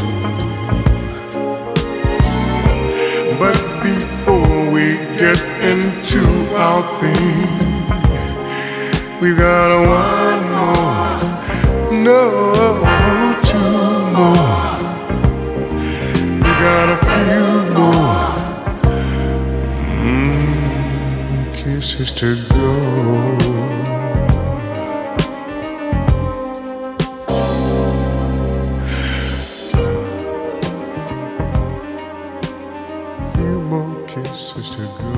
But before we get into our thing, we got one more, no, two more. We got a few more kisses to go. Kisses to go.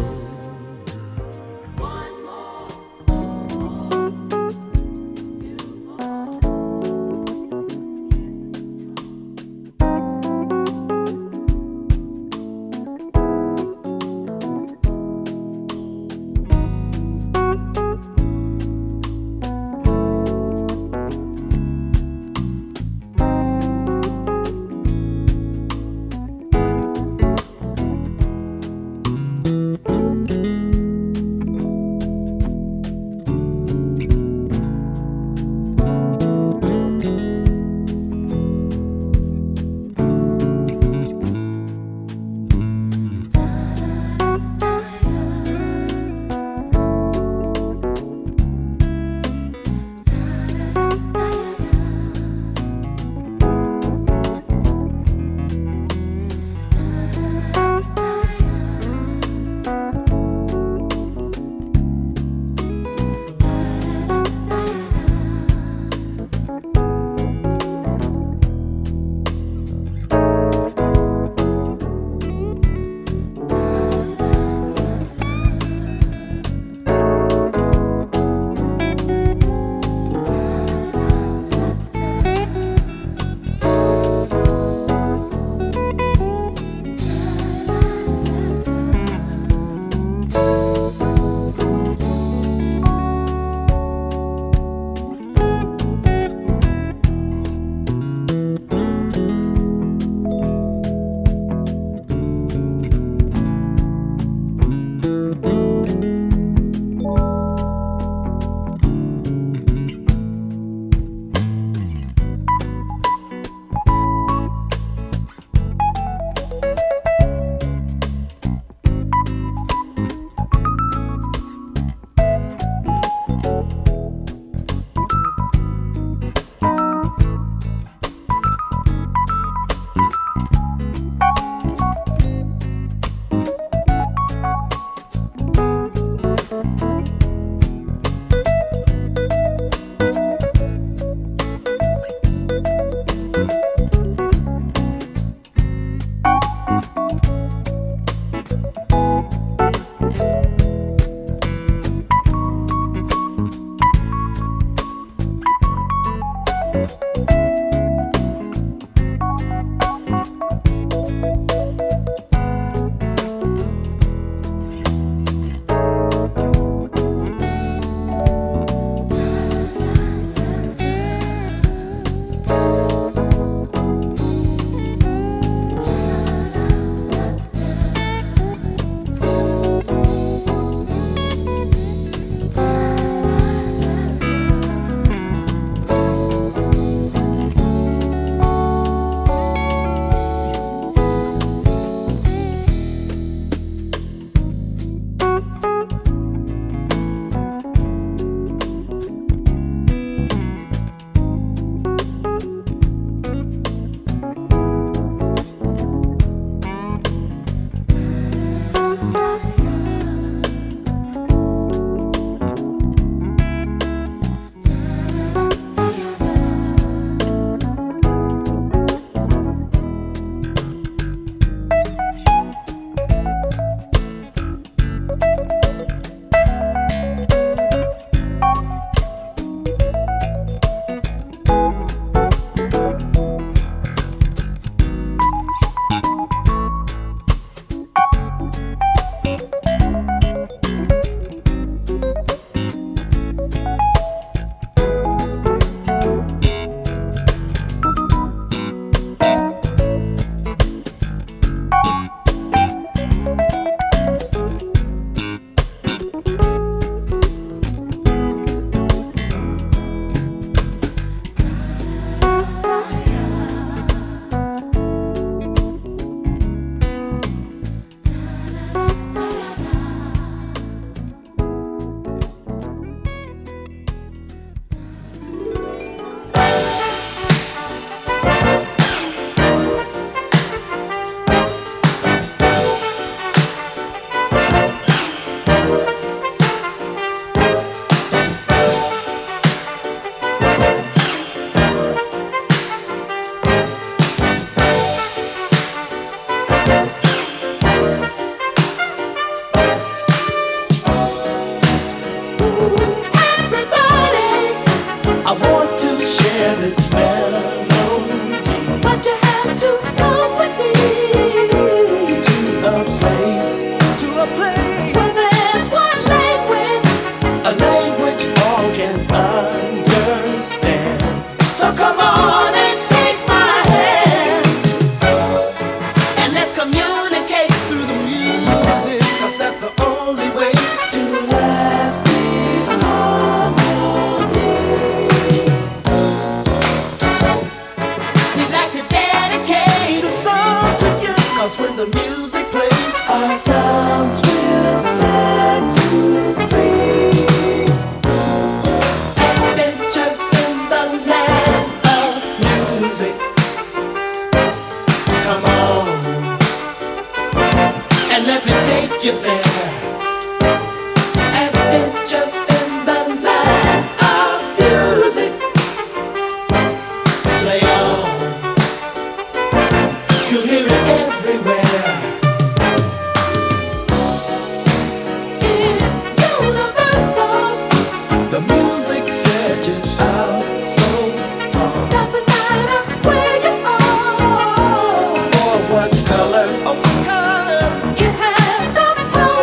It has the power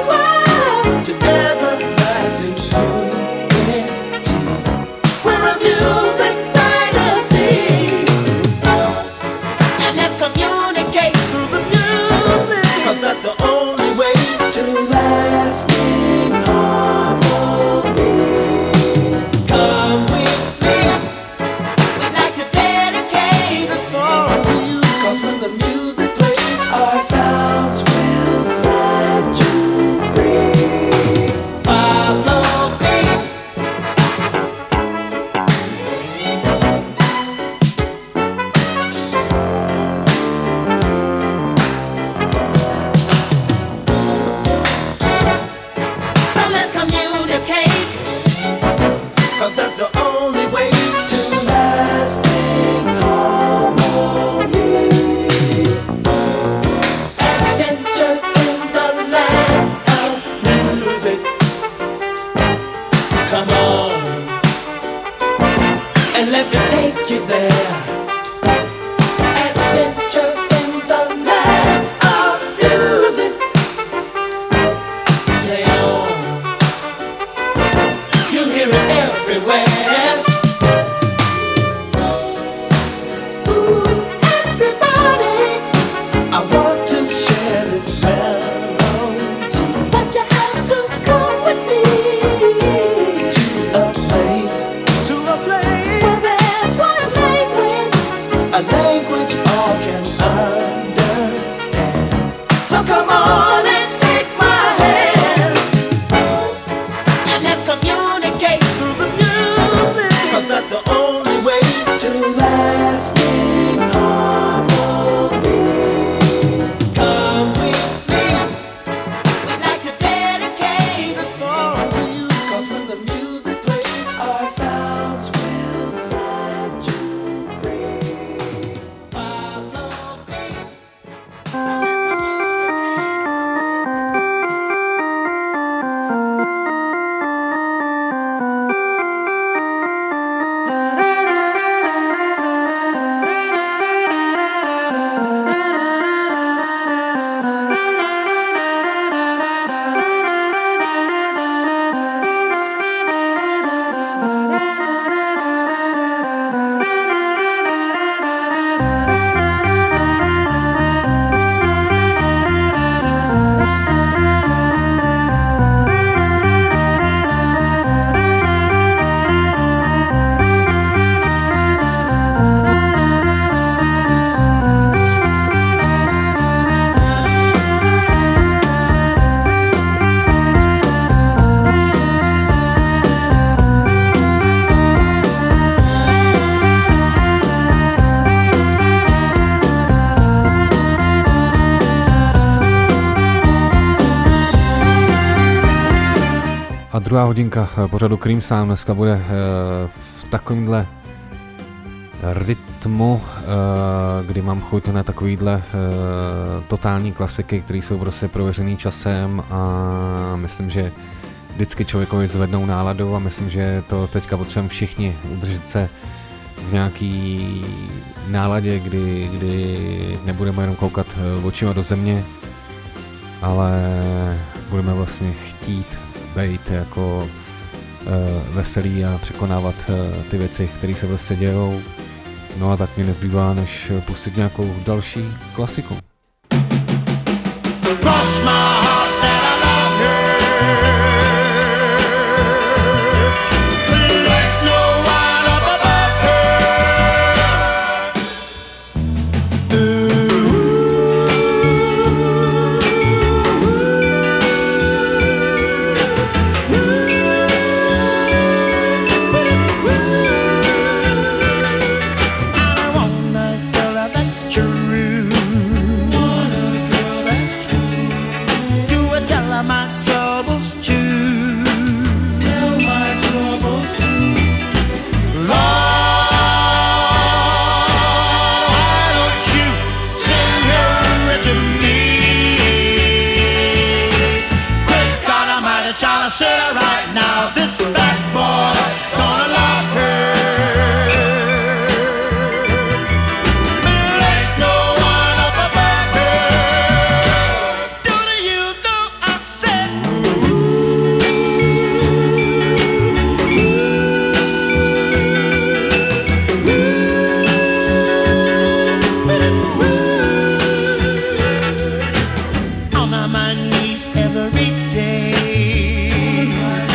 lasting harmony. Come with me. We'd like to dedicate the song to you, 'cause when the music plays, our sounds will set you free. Follow me. So let's A druhá hodinka pořadu Cream Sound dneska bude v takovémhle rytmu, kdy mám chuť na takovýhle totální klasiky, které jsou prostě prověřený časem a myslím, že vždycky člověkovi zvednou náladu a myslím, že to teďka potřebujeme všichni udržet se v nějaký náladě, kdy nebudeme jenom koukat očima do země, ale budeme vlastně chtít být jako veselý a překonávat ty věci, které se prostě dějou. No a tak mě nezbývá, než pustit nějakou další klasiku. cross my heart that I love her. There's no one up above I want a girl that's true. Want a girl that's true. Do I tell her my troubles too? Tell my troubles too. Lord, why don't you send her to me? Great God Almighty, child, I said it right now. This fat boy's gonna love her. There's no one up above her. Do you know I said? On my knees every day.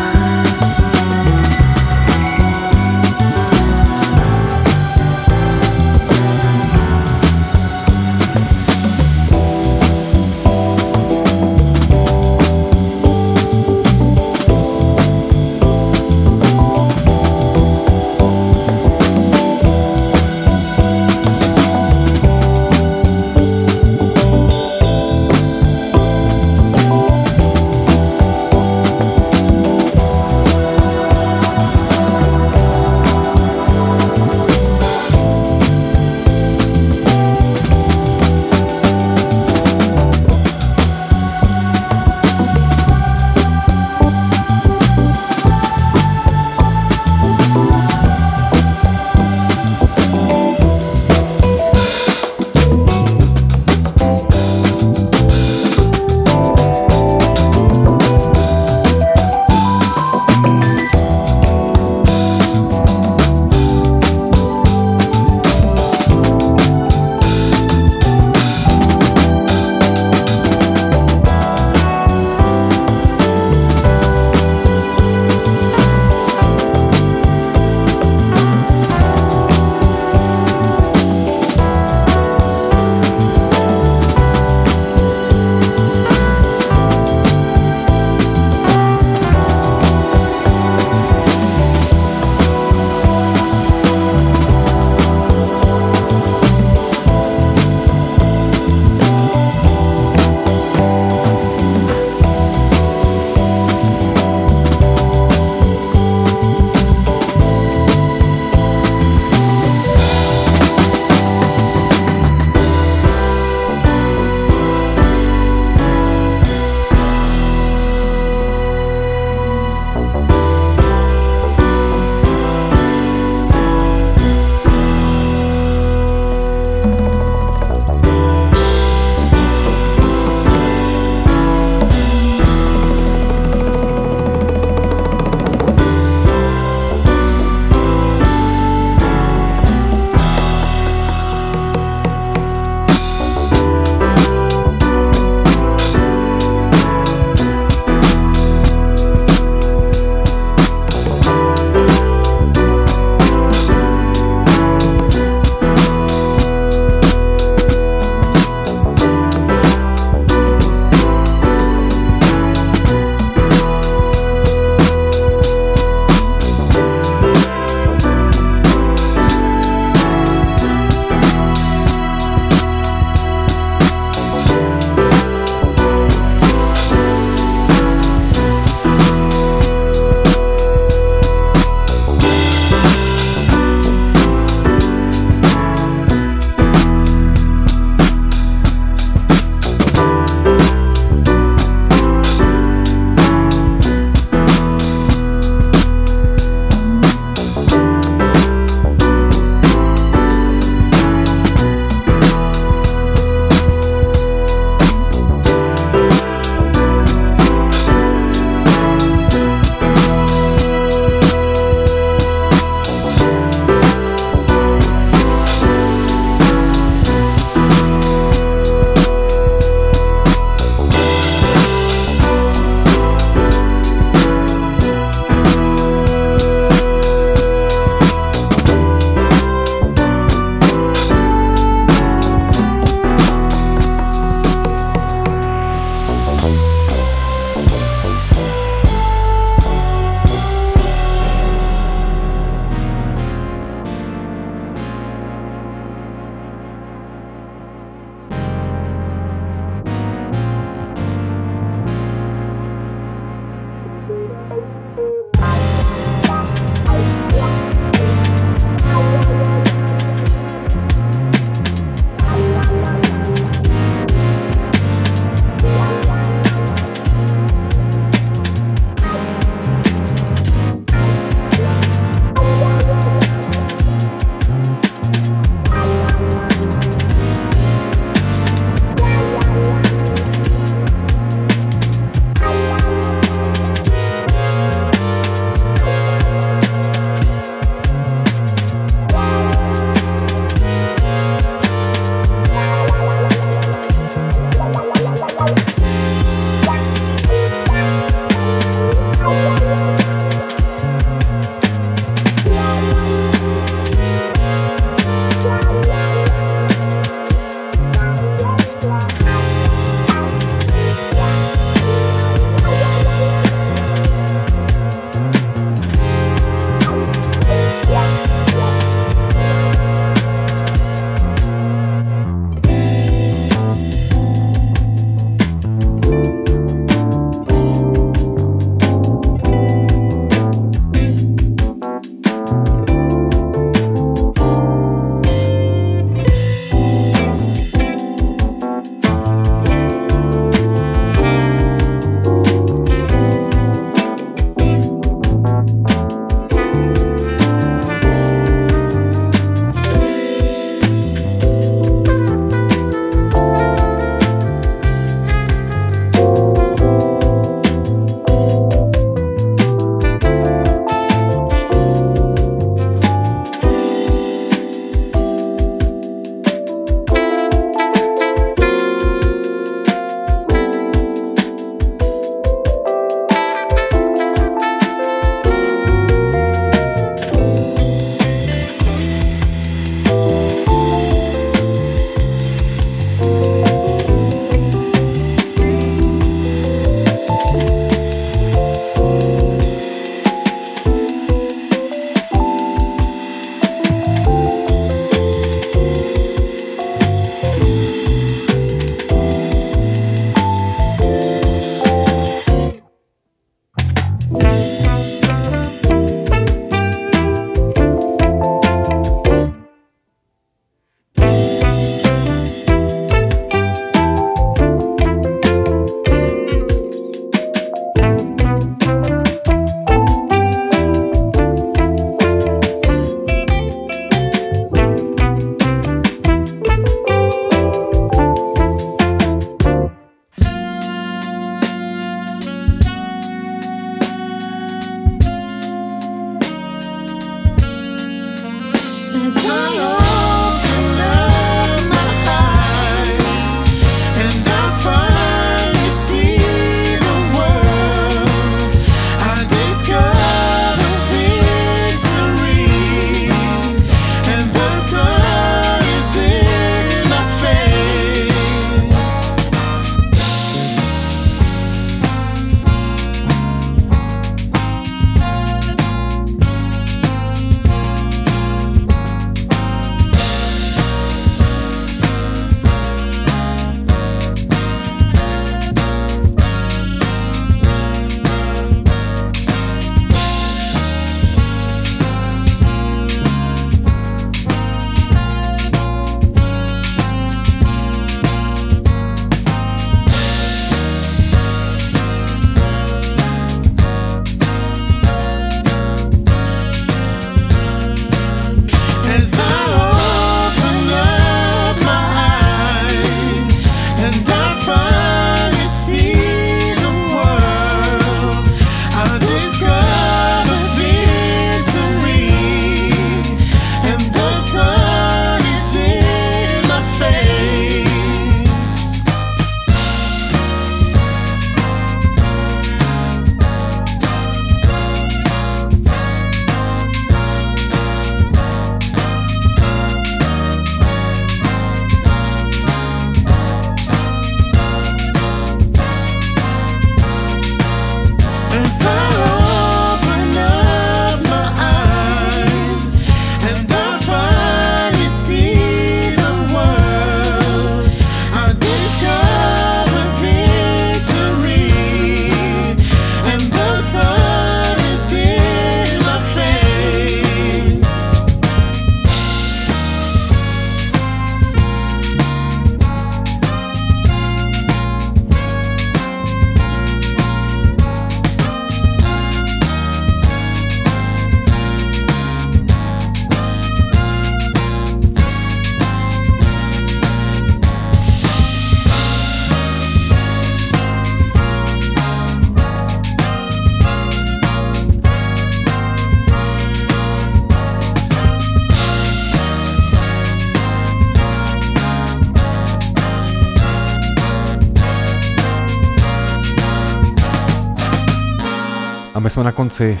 A my jsme na konci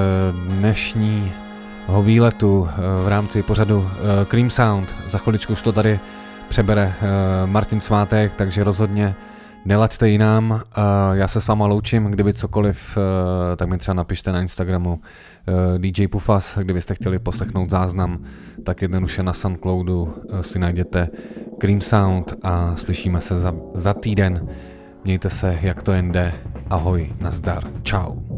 dnešního výletu v rámci pořadu Cream Sound. Za chviličku už to tady přebere Martin Svátek, takže rozhodně nelaďte jinam. Já se s váma loučím, kdyby cokoliv, tak mi třeba napište na Instagramu DJ Pufas, kdybyste chtěli poslechnout záznam, tak jednoduše na Soundcloudu si najděte Cream Sound a slyšíme se za týden. Mějte se, jak to jen jde. Ahoj, nazdar, čau.